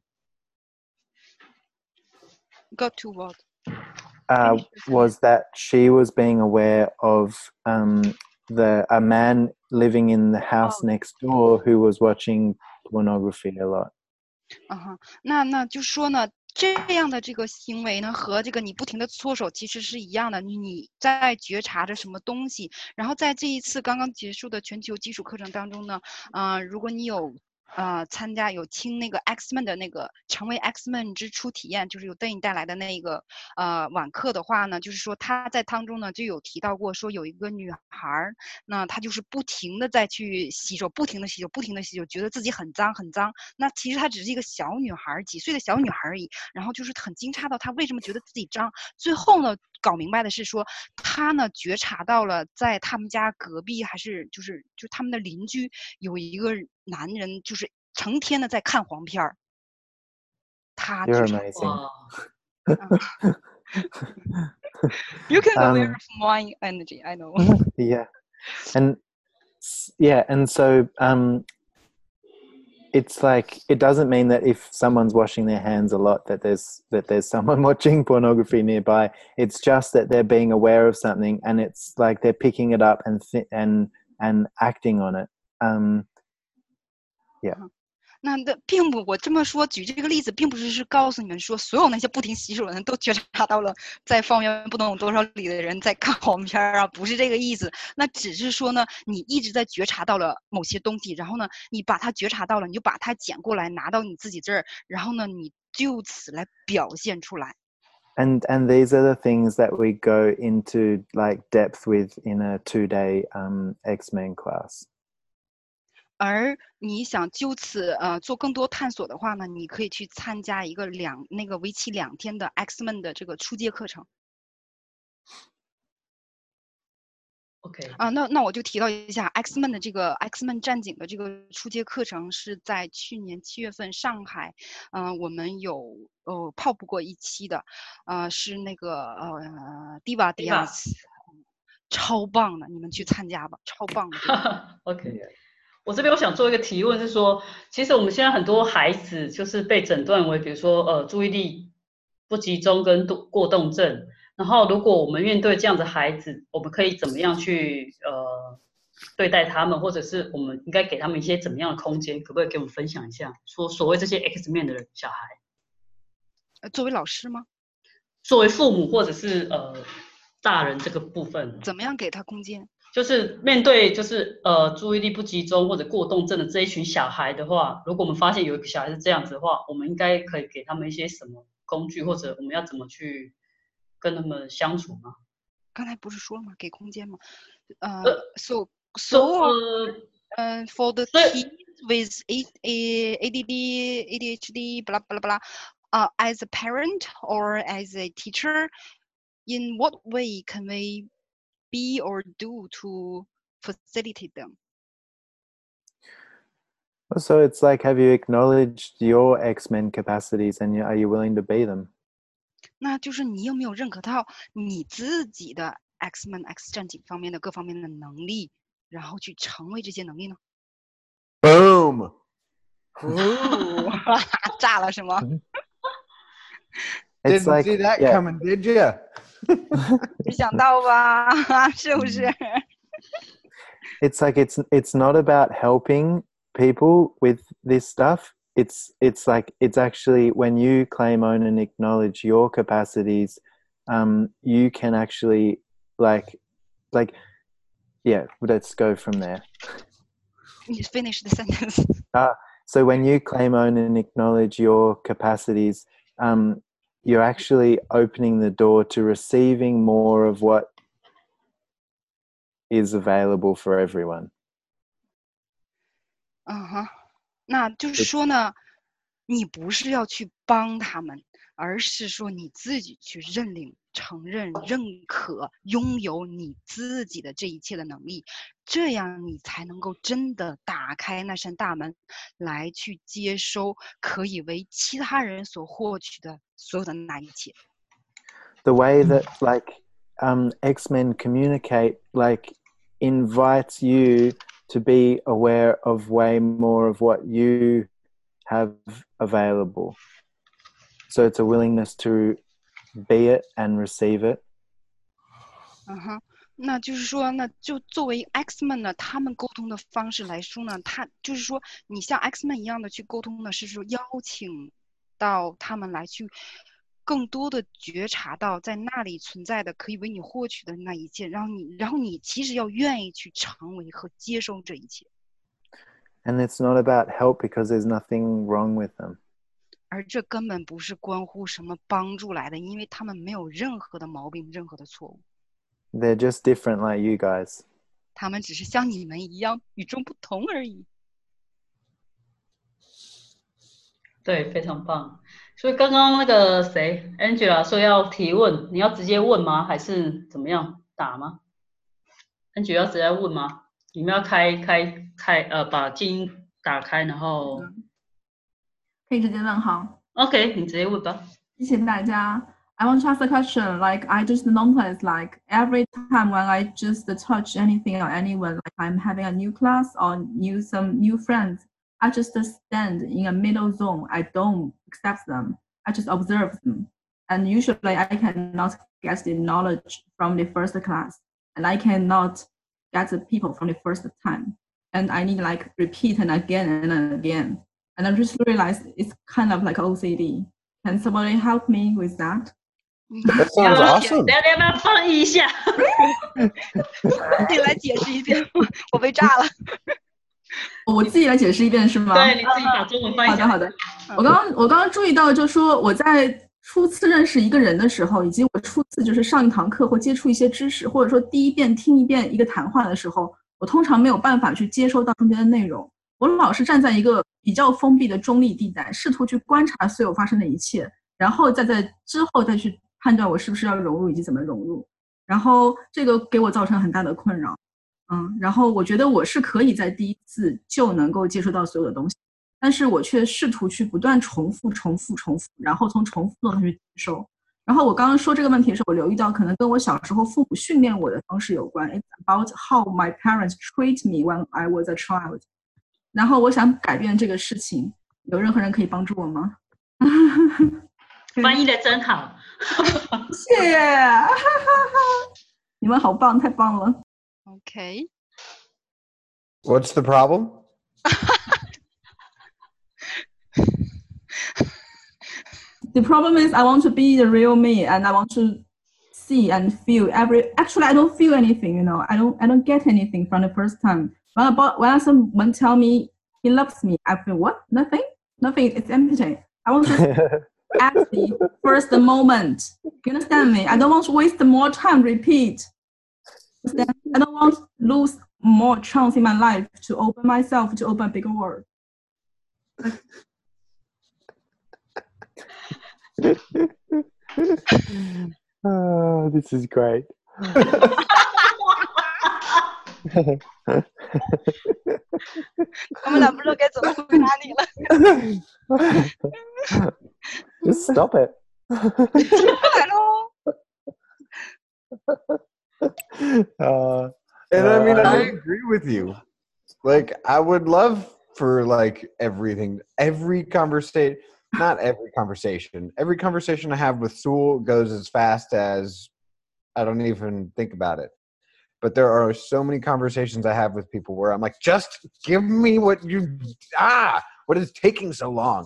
Speaker 2: what?
Speaker 3: was that she was being aware of a man living in the house next door who was watching pornography a lot.
Speaker 2: 那就说呢，这样的这个行为呢，和这个你不停的搓手其实是一样的。你在觉察着什么东西，然后在这一次刚刚结束的全球基础课程当中呢，如果你有参加有听那个 X-Men 的那个成为 X-Men 之初体验，就是有电影带来的那个晚课的话呢，就是说他在当中呢就有提到过，说有一个女孩，那她就是不停的在去洗手，不停的洗手，觉得自己很脏。那其实她只是一个小女孩，几岁的小女孩而已，然后就是很惊诧到她为什么觉得自己脏。最后呢，搞明白的是说，她呢觉察到了在他们家隔壁还是就他们的邻居有一个男人，就是成天的在看黄片儿。他
Speaker 3: You're
Speaker 2: 觉察
Speaker 3: amazing.
Speaker 2: You can aware of my energy, I know.
Speaker 3: Yeah, and so it's like it doesn't mean that if someone's washing their hands a lot that there's someone watching pornography nearby. It's just that they're being aware of something, and it's like they're picking it up and acting on it. Yeah.
Speaker 2: 那并不，我这么说举这个例子，并不是告诉你们说所有那些不停洗手的人都觉察到了在方圆不能有多少里的人在看黄片啊，不是这个意思。那只是说呢，你一直在觉察到了某些东西，然后呢，你把它觉察到了，你就把它捡过来拿到你自己这儿，然后呢，你就此来表现出来。
Speaker 3: And these are the things that we go into like depth with in a 2-day X-Men class.
Speaker 2: 而你想就此做更多探索的话呢，你可以去参加一个为期2天的 X-Men 的这个初阶课程。
Speaker 1: OK
Speaker 2: 那我就提到一下 X-Men 的这个 X-Men 战警的这个初阶课程是在去年7月份上海，我们有泡布过一期的，是那个Diva Diaz， 超棒的，你们去参加吧，超棒的。
Speaker 1: OK。我这边我想做一个提问，是说，其实我们现在很多孩子就是被诊断为，比如说注意力不集中跟过动症。然后，如果我们面对这样的孩子，我们可以怎么样去对待他们，或者是我们应该给他们一些怎么样的空间？可不可以给我们分享一下？说所谓这些 X 面的小孩，
Speaker 2: 作为老师吗？
Speaker 1: 作为父母或者是大人这个部分，
Speaker 2: 怎么样给他空间？
Speaker 1: 就是面对就是注意力不集中或者过动症的这一群小孩的话，如果我们发现有一个小孩是这样子的话，我们应该可以给他们一些什么工具，或者我们要怎么去跟他们相处吗？
Speaker 2: 刚才不是说了吗？给空间吗？So for the kids with ADD, ADHD, blah blah blah, as a parent or as a teacher, in what way can we be or do to facilitate them?
Speaker 3: So it's like, have you acknowledged your X-Men capacities, and are you willing to be them?
Speaker 2: 那就是你有没有认可到你自己的 X-Men X 战警方面的各方面的能力，然后去成为这些能力呢？
Speaker 7: Boom.
Speaker 2: 炸了是吗？
Speaker 3: It's
Speaker 7: Didn't
Speaker 3: like
Speaker 7: see that
Speaker 3: yeah.
Speaker 7: coming, did you?
Speaker 2: 没想到吧？是不是？
Speaker 3: It's like it's not about helping people with this stuff. It's like it's actually when you claim, own, and acknowledge your capacities, you can actually like yeah. Let's go from there.
Speaker 2: You finish the sentence.
Speaker 3: So when you claim, own, and acknowledge your capacities, you're actually opening the door to receiving more of what is available for everyone.
Speaker 2: 那就是说呢，你不是要去帮他们，而是说你自己去认领、承认、认可、拥有你自己的这一切的能力，这样你才能够真的打开那扇大门，来去接收可以为其他人所获取的所有的那一切。
Speaker 3: The way that X-Men communicate invites you to be aware of way more of what you have available. So it's a willingness to be it and receive it.
Speaker 2: 那就是说，那就作为 X-Men 呢，他们沟通的方式来说呢，他就是说，你像 X-Men 一样的去沟通呢，是说邀请到他们来去更多的觉察到在那里存在的可以为你获取的那一切，然后你其实要愿意去成为和接受这一切。
Speaker 3: And it's not about help because there's nothing wrong with them.
Speaker 2: 而这根本不是关乎什么帮助来的，因为他们没有任何的毛病，任何的错误。
Speaker 3: They're just different like you guys.
Speaker 2: 他们只是像你们一样与众不同而已。
Speaker 1: 对，非常棒。所以刚刚那个谁 Angela 说要提问，你要直接问吗？还是怎么样打吗 ？Angela 要直接问吗？你们要把静音打开，然后
Speaker 8: 可以直接问好。
Speaker 1: OK， 你直接问吧。
Speaker 8: 谢谢大家。I want to ask a question. Like I just noticed, like every time when I just touch anything or anyone, like I'm having a new class or some new friends, I just stand in a middle zone. I don't accept them. I just observe them. And usually I cannot get the knowledge from the first class, and I cannot get the people from the first time. And I need like repeat and again. And I just realized it's kind of like OCD. Can somebody help me with that?
Speaker 7: That sounds awesome.
Speaker 1: 要不要翻译一下？
Speaker 2: 你来解释一遍，我被炸了。
Speaker 8: 我自己来解释一遍是吗？
Speaker 1: 对，你自己把中文翻译一下。
Speaker 8: 好的。我刚刚注意到，就是说我在初次认识一个人的时候，以及我初次就是上一堂课或接触一些知识，或者说第一遍听一遍一个谈话的时候，我通常没有办法去接收到中间的内容。我老是站在一个比较封闭的中立地带，试图去观察所有发生的一切，然后在之后再去判断我是不是要融入以及怎么融入。然后这个给我造成很大的困扰。然后我觉得我是可以在第一次就能够接触到所有的东西，但是我却试图去不断重复，然后从重复中去接受。然后我刚刚说这个问题的时候，我留意到可能跟我小时候父母训练我的方式有关。It's about how my parents treat me when I was a child. 然后我想改变这个事情，有任何人可以帮助我吗？
Speaker 1: 翻译的真好，
Speaker 8: 谢谢，你们好棒，太棒了。
Speaker 2: Okay.
Speaker 7: What's the problem?
Speaker 8: The problem is I want to be the real me, and I want to see and feel actually I don't feel anything, you know. I don't get anything from the first time. When someone tell me he loves me, I feel what? Nothing, it's empty. I want to at the first moment. You understand me? I don't want to waste more time repeat. I don't want to lose more chance in my life to open myself to open a bigger world.
Speaker 3: Oh, this is great.
Speaker 2: 我们俩不知道该怎么回答你了。
Speaker 3: Just stop it.
Speaker 2: 进不来喽。
Speaker 7: And I mean, I agree with you. Like, I would love for like every conversation, not every conversation I have with Sewell goes as fast as I don't even think about it. But there are so many conversations I have with people where I'm like, just give me what is taking so long?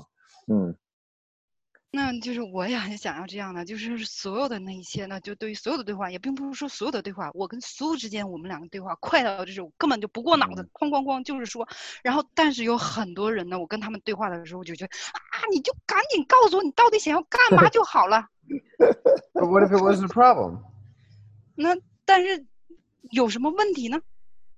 Speaker 2: 那就是我也很想要这样的，就是所有的那一些呢，就对于所有的对话，也并不是说所有的对话，我跟苏之间我们两个对话快到就是我根本就不过脑子，哐哐哐就是说，然后但是有很多人呢，我跟他们对话的时候，我就觉得你就赶紧告诉我你到底想要干嘛就好了。
Speaker 7: But what if it wasn't a problem?
Speaker 2: 那但是有什么问题呢？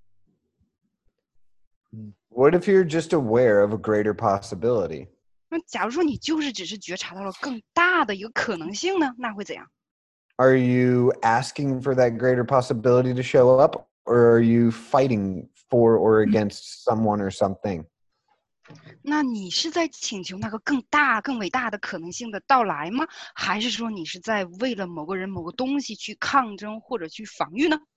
Speaker 7: What if you're just aware of a greater possibility?
Speaker 2: 那假如说你就是只是觉察到了更大的一个可能性呢，那会怎样？
Speaker 7: Are you asking for that greater possibility to show up, or are you fighting for or against someone or something?
Speaker 2: 那你是在请求那个更大、更伟大的可能性的到来吗？还是说你是在为了某个人、某个东西去抗争或者去防御呢？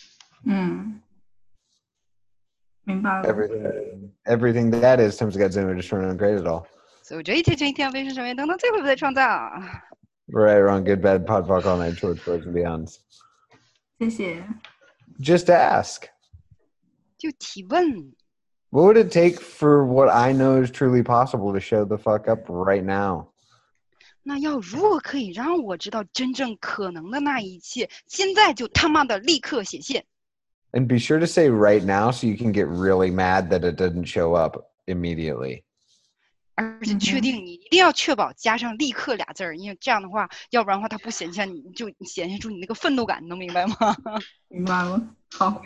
Speaker 8: 明白了。
Speaker 7: Everything that is times Godzilla just running great at all.
Speaker 2: 所以这一切真一天为是什么等等，最后不再创造。
Speaker 7: Right, wrong, good, bad, pod, fuck, all night, shorts, birds, and beyonds.
Speaker 8: 谢谢。
Speaker 7: Just ask.
Speaker 2: 就提问。
Speaker 7: What would it take for what I know is truly possible to show the fuck up right now?
Speaker 2: 那要如何可以让我知道真正可能的那一切，现在就他妈的立刻显现。
Speaker 7: And be sure to say right now so you can get really mad that it doesn't show up immediately.
Speaker 2: 而且确定你一定要确保加上立刻俩字儿，因为这样的话，要不然的话它不显现，你就显现出你那个愤怒感，你能明白吗？
Speaker 8: 明白了，好。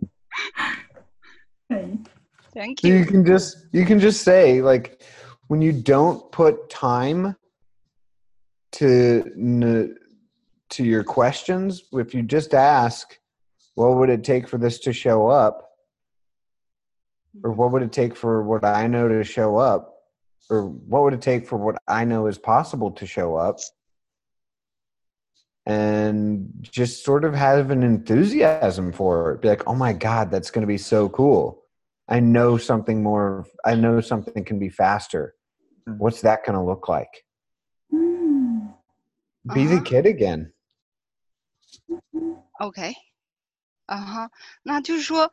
Speaker 2: Thank
Speaker 7: you. You can just say, like, when you don't put time to your questions, if you just ask, what would it take for this to show up? Or what would it take for what I know to show up? Or what would it take for what I know is possible to show up? And just sort of have an enthusiasm for it. Be like, oh my God, that's going to be so cool. I know something more. I know something can be faster. What's that going to look like? Be the kid again.
Speaker 2: OK. 那就是说，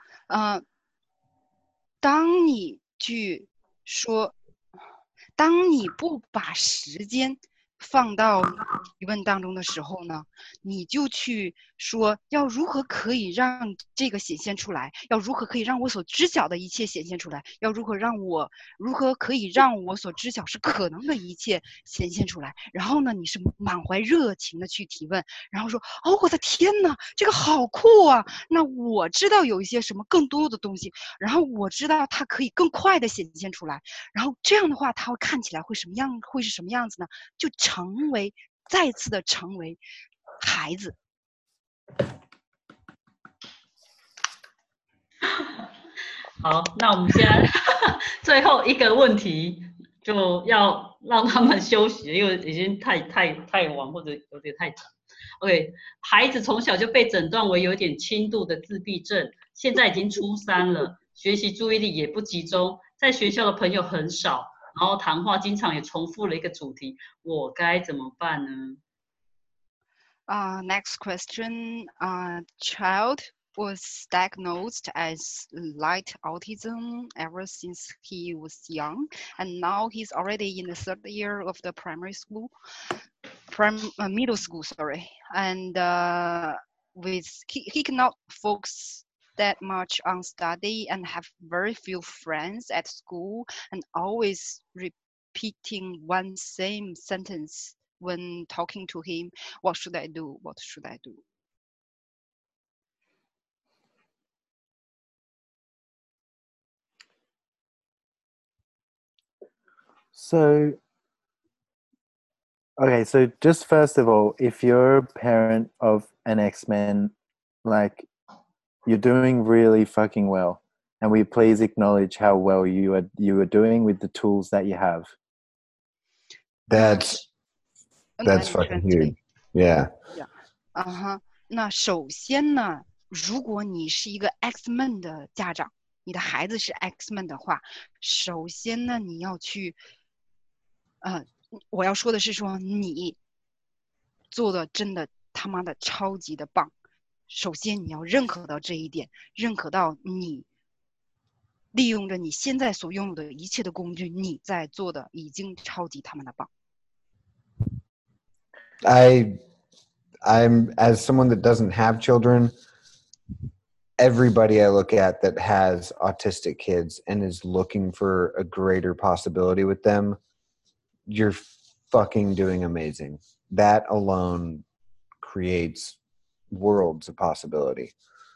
Speaker 2: 当你去说，当你不把时间放到提问当中的时候呢，你就去说要如何可以让这个显现出来，要如何可以让我所知晓的一切显现出来，要如何可以让我所知晓是可能的一切显现出来。然后呢，你是满怀热情的去提问，然后说哦，我的天哪，这个好酷啊！那我知道有一些什么更多的东西，然后我知道它可以更快的显现出来，然后这样的话，它会看起来会是什么样子呢？就再次的成为孩子。
Speaker 1: 好，那我们现在最后一个问题，就要让他们休息，因为已经太晚或者有点太长。OK， 孩子从小就被诊断为有点轻度的自闭症，现在已经初3了，学习注意力也不集中，在学校的朋友很少，然后谈话经常也重复了一个主题，我该怎么办呢
Speaker 2: ？Next question. Child was diagnosed as light autism ever since he was young, and now he's already in the 3rd year of the middle school. Sorry, and he cannot focus that much on study and have very few friends at school, and always repeating one same sentence when talking to him. What should I do? What should I do?
Speaker 3: So, okay, so just first of all, if you're a parent of an X-Men, like, you're doing really fucking well, and we please acknowledge how well you are doing with the tools that you have.
Speaker 7: That's That's fucking huge. Yeah.
Speaker 2: 那首先呢，如果你是一个 X-Men 的家长，你的孩子是 X-Men 的话，首先呢，你要去，我要说的是说你做的真的他妈的超级的棒。首先你要认可到这一点，认可到你利用着你现在所拥有的一切的工具，你在做的已经超级他妈的棒。
Speaker 7: I'm as someone that doesn't have children, everybody I look at that has autistic kids and is looking for a greater possibility with them, you're fucking doing amazing. That alone creates worlds of possibility.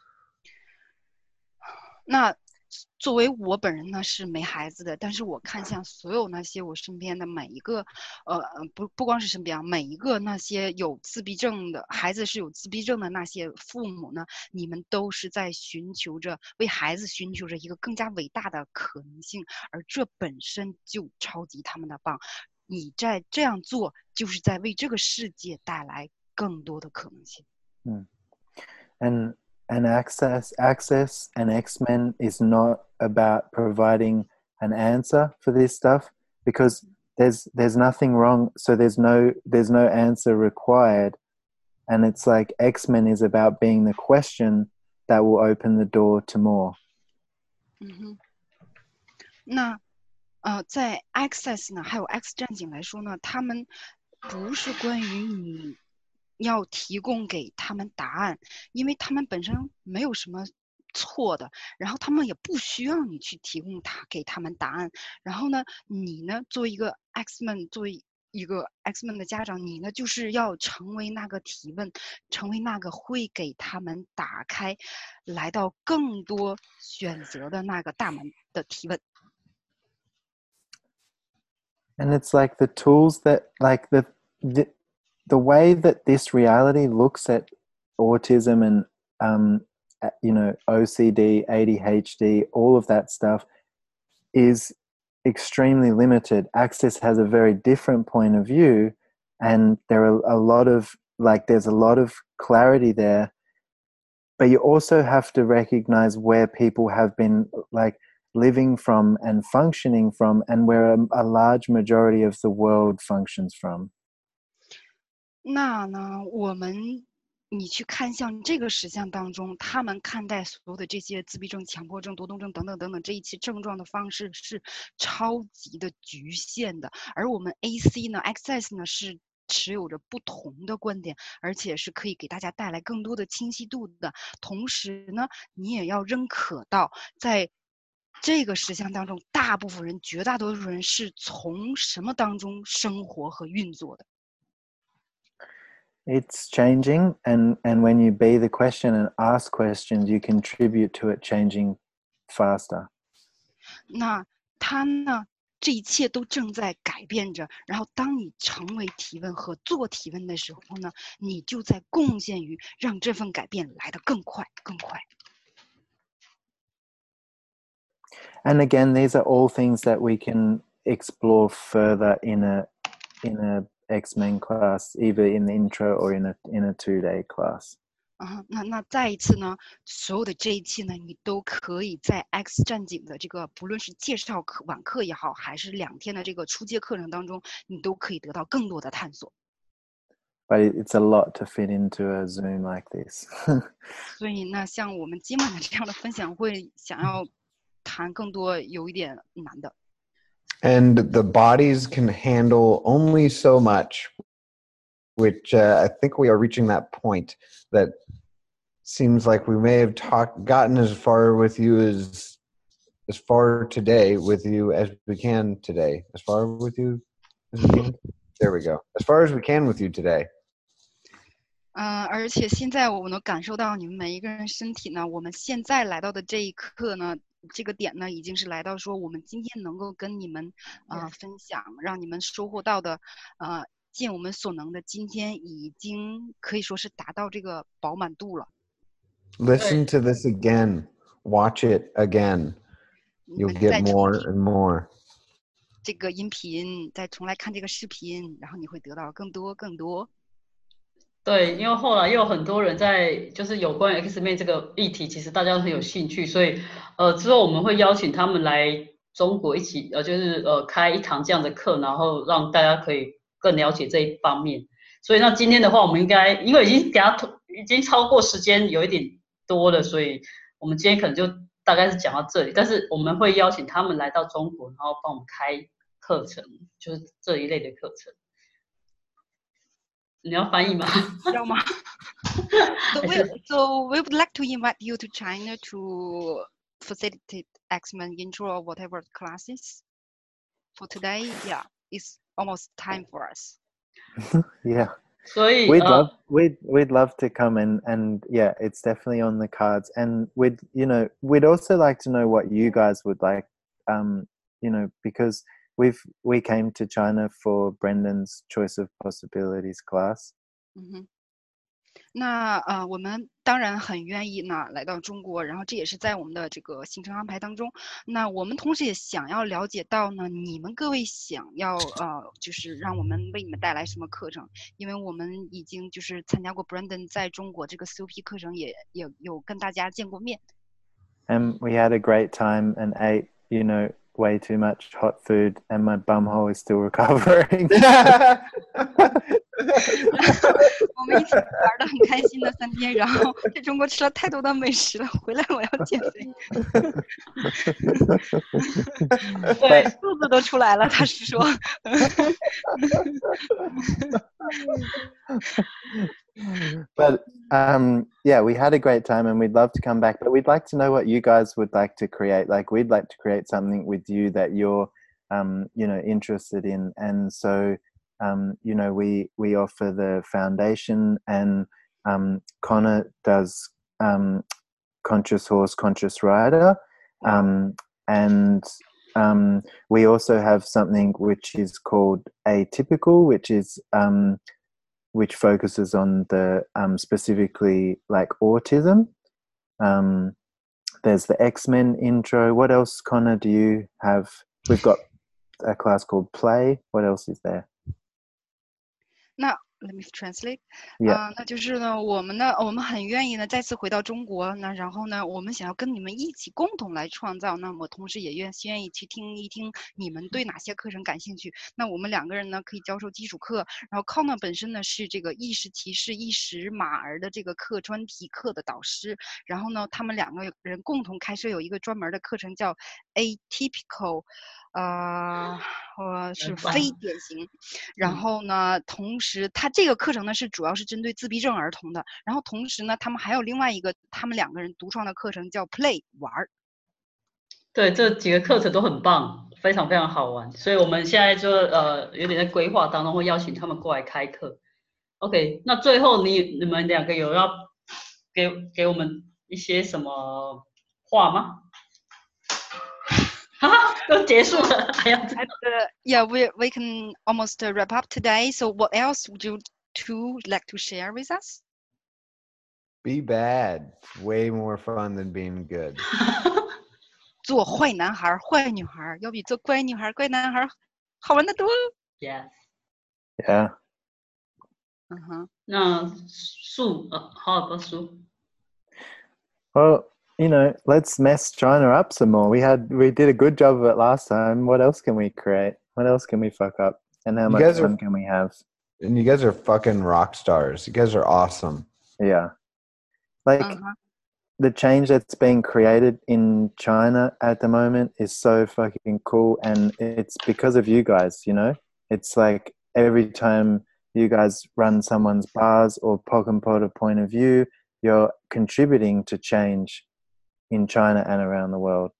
Speaker 2: 那作为我本人呢是没孩子的，但是我看向所有那些我身边的每一个，不光是身边啊，每一个那些有自闭症的孩子是有自闭症的那些父母呢，你们都是在寻求着为孩子寻求着一个更加伟大的可能性，而这本身就超级他们的棒。你在这样做，就是在为这个世界带来更多的可能性。
Speaker 3: And access and X-Men is not about providing an answer for this stuff, because there's nothing wrong, so there's no answer required, and it's like X-Men is about being the question that will open the door to more.
Speaker 2: 那在 Access 呢，还有 X 战警来说呢，他们不是关于你要提供给他们答案，因为他们本身没有什么错的，然后他们也不需要你去提供给他们答案。然后呢，你呢作为一个 X-Men， 作为一个 X-Men 的家长，你呢就是要成为那个提问，成为那个会给他们打开来到更多选择的那个大门的提问。
Speaker 3: And it's like the tools that, like the way that this reality looks at autism and OCD, ADHD, all of that stuff is extremely limited. Access has a very different point of view, and there are there's a lot of clarity there, but you also have to recognize where people have been living from and functioning from, and where a large majority of the world functions from.
Speaker 2: 那呢，你去看向这个实相当中，他们看待所有的这些自闭症、强迫症、多动症等等等等这一切症状的方式是超级的局限的，而我们 AC 呢 ，Access 呢是持有着不同的观点，而且是可以给大家带来更多的清晰度的。同时呢，你也要认可到，在这个实相当中，大部分人、绝大多数人是从什么当中生活和运作的。
Speaker 3: It's changing, and when you be the question and ask questions, you contribute to it changing faster.
Speaker 2: 那它呢，这一切都正在改变着。然后，当你成为提问和做提问的时候呢，你就在贡献于让这份改变来得更快、更快。
Speaker 3: And again, these are all things that we can explore further in a X-Men class, either in the intro or in a 2-day class.
Speaker 2: 那再一次呢，所有的这一切呢，你都可以在 X 战警的这个不论是介绍晚课也好，还是2天的这个初阶课程当中，你都可以得到更多的探索。
Speaker 3: But it's a lot to fit into a Zoom like this.
Speaker 2: 所以呢，像我们今晚的这样的分享会，想要谈更多有一点难的。
Speaker 7: And the bodies can handle only so much, which I think we are reaching that point that seems like we may have gotten as far with you as far today with you as we can today. As far with you as we can? There we go. As far as we can with you today.
Speaker 2: 而且现在我能感受到你们每一个人身体呢，我们现在来到的这一刻呢，这个点呢，已经是来到说我们今天能够跟你们分享，让你们收获到的尽我们所能的，今天已经可以说是达到这个饱满度了。
Speaker 7: Listen to this again. Watch it again. You'll get more and more.
Speaker 2: 这个音频，再重来看这个视频，然后你会得到更多更多。
Speaker 1: 对，因为后来又有很多人在就是有关于 X-Men 这个议题，其实大家都很有兴趣，所以之后我们会邀请他们来中国一起就是开一堂这样的课，然后让大家可以更了解这一方面。所以那今天的话，我们应该因为已经超过时间有一点多了，所以我们今天可能就大概是讲到这里。但是我们会邀请他们来到中国，然后帮我们开课程，就是这一类的课程。你要翻译吗？
Speaker 2: 要吗？So we would like to invite you to China to facilitate X-Men intro or whatever classes. For today, yeah, it's almost time for us.
Speaker 3: Yeah.
Speaker 1: 所以
Speaker 3: we'd love to come and yeah, it's definitely on the cards. And we'd also like to know what you guys would like, because we came to China for Brendan's Choice of Possibilities class.
Speaker 2: 那我们当然很愿意呢来到中国，然后这也是在我们的这个行程安排当中。那我们同时也想要了解到呢，你们各位想要就是让我们为你们带来什么课程？因为我们已经就是参加过 Brandon 在中国这个 COP 课程，也有跟大家见过面。
Speaker 3: And we had a great time and ate, way too much hot food, and my bumhole is still recovering.
Speaker 2: 我们一起玩得很开心的3天，然后在中国吃了太多的美食了，回来我要减肥。对，肚子都出来了，他是说。
Speaker 3: But yeah, we had a great time and we'd love to come back, but we'd like to know what you guys would like to create. Like we'd like to create something with you that you're interested in. And so we offer the foundation, and Connor does Conscious Horse, Conscious Rider, and we also have something which is called Atypical, which focuses on the specifically like autism. There's the X-Men intro. What else, Connor, do you have? We've got a class called Play. What else is there?
Speaker 2: Now, let me translate.
Speaker 3: 那
Speaker 2: 就是呢，我们很愿意呢再次回到中国，那然后呢，我们想要跟你们一起共同来创造。那么同时也愿意去听一听你们对哪些课程感兴趣。那我们2个人呢可以教授基础课，然后 Connor 本身呢是这个意识提示、意识马儿的这个专题课的导师，然后呢，他们2个人共同开设有一个专门的课程叫 Atypical。是非典型，然后呢，同时他这个课程呢主要是针对自闭症儿童的，然后同时呢，他们还有另外一个他们2个人独创的课程叫 Play 玩。
Speaker 1: 对，这几个课程都很棒，非常非常好玩，所以我们现在就有点在规划当中，会邀请他们过来开课。OK， 那最后你们2个有要给我们一些什么话吗？都结束了，还要
Speaker 2: Yeah, we can almost wrap up today. So what else would you two like to share with us?
Speaker 7: Be bad. Way more fun than being good.
Speaker 2: 做坏男孩、坏女孩要比做乖女孩、乖男孩好玩得多。
Speaker 1: Yes.
Speaker 3: Yeah.
Speaker 1: 那树how about 树？
Speaker 3: Well, let's mess China up some more. We did a good job of it last time. What else can we create? What else can we fuck up? And how much fun can we have?
Speaker 7: And you guys are fucking rock stars. You guys are awesome.
Speaker 3: Yeah. Like the change that's being created in China at the moment is so fucking cool, and it's because of you guys, It's like every time you guys run someone's bars or Pokemon point of view, you're contributing to change in China and around the world.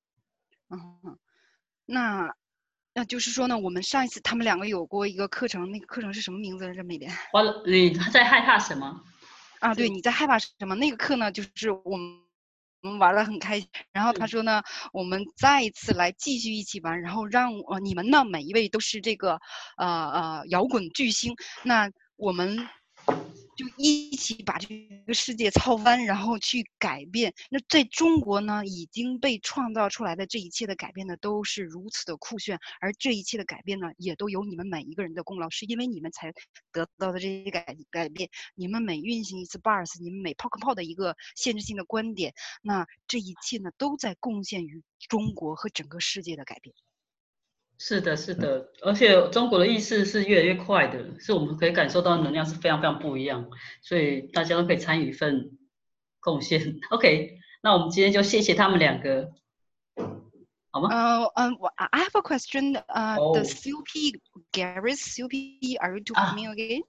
Speaker 2: 那就是说呢，我们上一次他们2个有过一个课程，那个课程是什么名字来着？美莲，
Speaker 1: 你在害怕什么？
Speaker 2: 对，你在害怕什么？那个课呢，就是我们玩得很开心。然后他说呢，我们再一次来继续一起玩，然后让你们呢每一位都是这个摇滚巨星。那我们就一起把这个世界操翻，然后去改变。那在中国呢，已经被创造出来的这一切的改变呢，都是如此的酷炫，而这一切的改变呢，也都有你们每一个人的功劳，是因为你们才得到的这些改变。你们每运行一次 bars， 你们每抛个炮的一个限制性的观点，那这一切呢，都在贡献于中国和整个世界的改变。
Speaker 1: 是的，是的，而且中国的意识是越来越快的，是我们可以感受到能量是非常非常不一样，所以大家都可以参与一份贡献。OK， 那我们今天就谢谢他们两个，好吗
Speaker 2: ？I have a question.
Speaker 1: Oh.
Speaker 2: The COP, Gary's COP, are you to me again?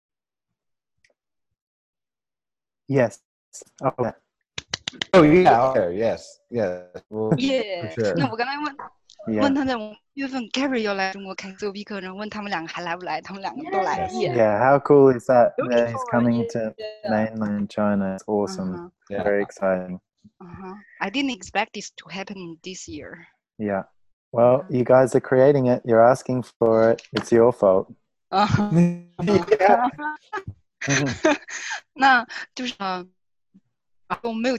Speaker 3: Yes. Okay.
Speaker 7: Oh yeah. Okay. Yes. Yeah. Well,
Speaker 2: Yeah.
Speaker 7: for sure.
Speaker 2: 那我刚才
Speaker 3: Yeah.
Speaker 2: 问他在5月份 Gary 要来中国开 COP 课，然后问他们两个还来不来，他们两个都来。
Speaker 3: Yeah. How cool is that?
Speaker 2: Looking
Speaker 3: That he's
Speaker 2: forward,
Speaker 3: coming to mainland China. It's awesome.
Speaker 7: Yeah.
Speaker 3: Very exciting.
Speaker 2: I didn't expect this to happen this year.
Speaker 3: Yeah. Well, you guys are creating it. You're asking for it. It's your fault.
Speaker 7: Yeah.
Speaker 2: 那就是我没有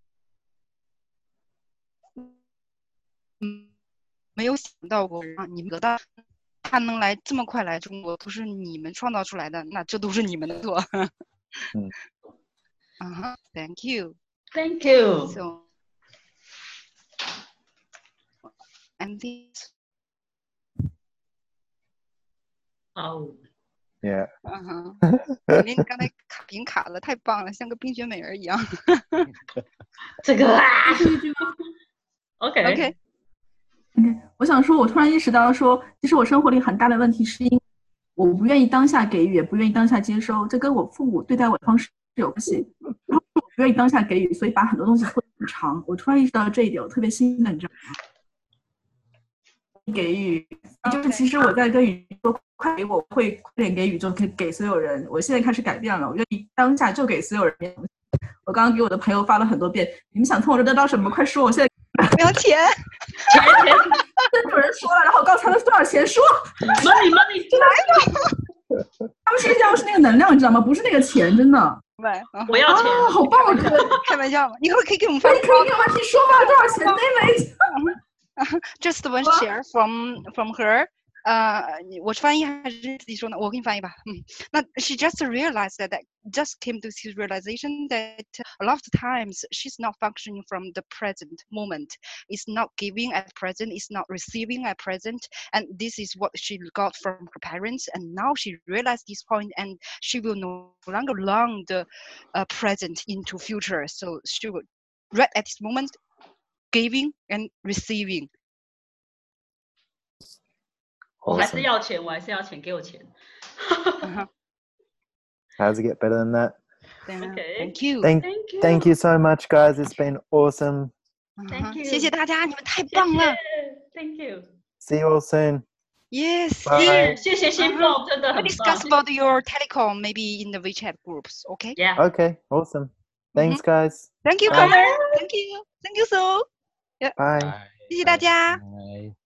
Speaker 2: 没有想到过你们得到他能来这么快来中国，都是你们创造出来的，那这都是你们的错。Thank you.
Speaker 1: Thank you.
Speaker 2: So, and this.
Speaker 1: Oh.
Speaker 3: Yeah.
Speaker 2: 您刚才屏卡了，太棒了，像个冰雪美人一样。
Speaker 1: 这个啊。OK。
Speaker 8: 我想说，我突然意识到说，其实我生活里很大的问题是因为我不愿意当下给予，也不愿意当下接收，这跟我父母对待我的方式有关系。我不愿意当下给予，所以把很多东西拖得很长。我突然意识到这一点，我特别兴奋，你知道吗？给予就是其实我在跟宇宙快给我会快点给宇宙给所有人。我现在开始改变了，我愿意当下就给所有人。我刚刚给我的朋友发了很多遍，你们想从我这得到什么？快说！我现在
Speaker 2: 不要钱，
Speaker 8: 真的有人说了，然后我刚才问多少钱，说
Speaker 1: money
Speaker 8: 真的他们现在要是那个能量，你知道吗？不是那个钱，真的。
Speaker 1: 我要钱，
Speaker 8: 好棒！我觉得
Speaker 2: 开玩笑嘛，你可以给我们发。
Speaker 8: 你可以给我你说吧，多少钱？那位。
Speaker 2: Just one share from her. 我翻译还是自己说呢？我给你翻译吧。那 she just realized that just came to this realization that a lot of times she's not functioning from the present moment. It's not giving at present. It's not receiving at present. And this is what she got from her parents. And now she realized this point, and she will no longer long the present into future. So she will right at this moment, giving and receiving.
Speaker 1: 我还是要钱，给我钱。
Speaker 3: How does it get better than that?
Speaker 1: Okay.
Speaker 2: Thank you.
Speaker 3: Thank you so much, guys. It's been awesome.
Speaker 1: Thank you.
Speaker 2: 谢谢大家，你们太棒了。
Speaker 1: Thank you.
Speaker 3: See you all soon.
Speaker 2: Yes.
Speaker 3: Bye.
Speaker 1: 谢谢新凤，真的很棒。
Speaker 2: We discuss about your telecom maybe in the WeChat groups. Okay.
Speaker 1: Yeah.
Speaker 3: Okay. Awesome. Thanks, guys.
Speaker 2: Thank you, Connor. Thank you. Thank you so.
Speaker 3: Bye.
Speaker 2: 谢谢大家。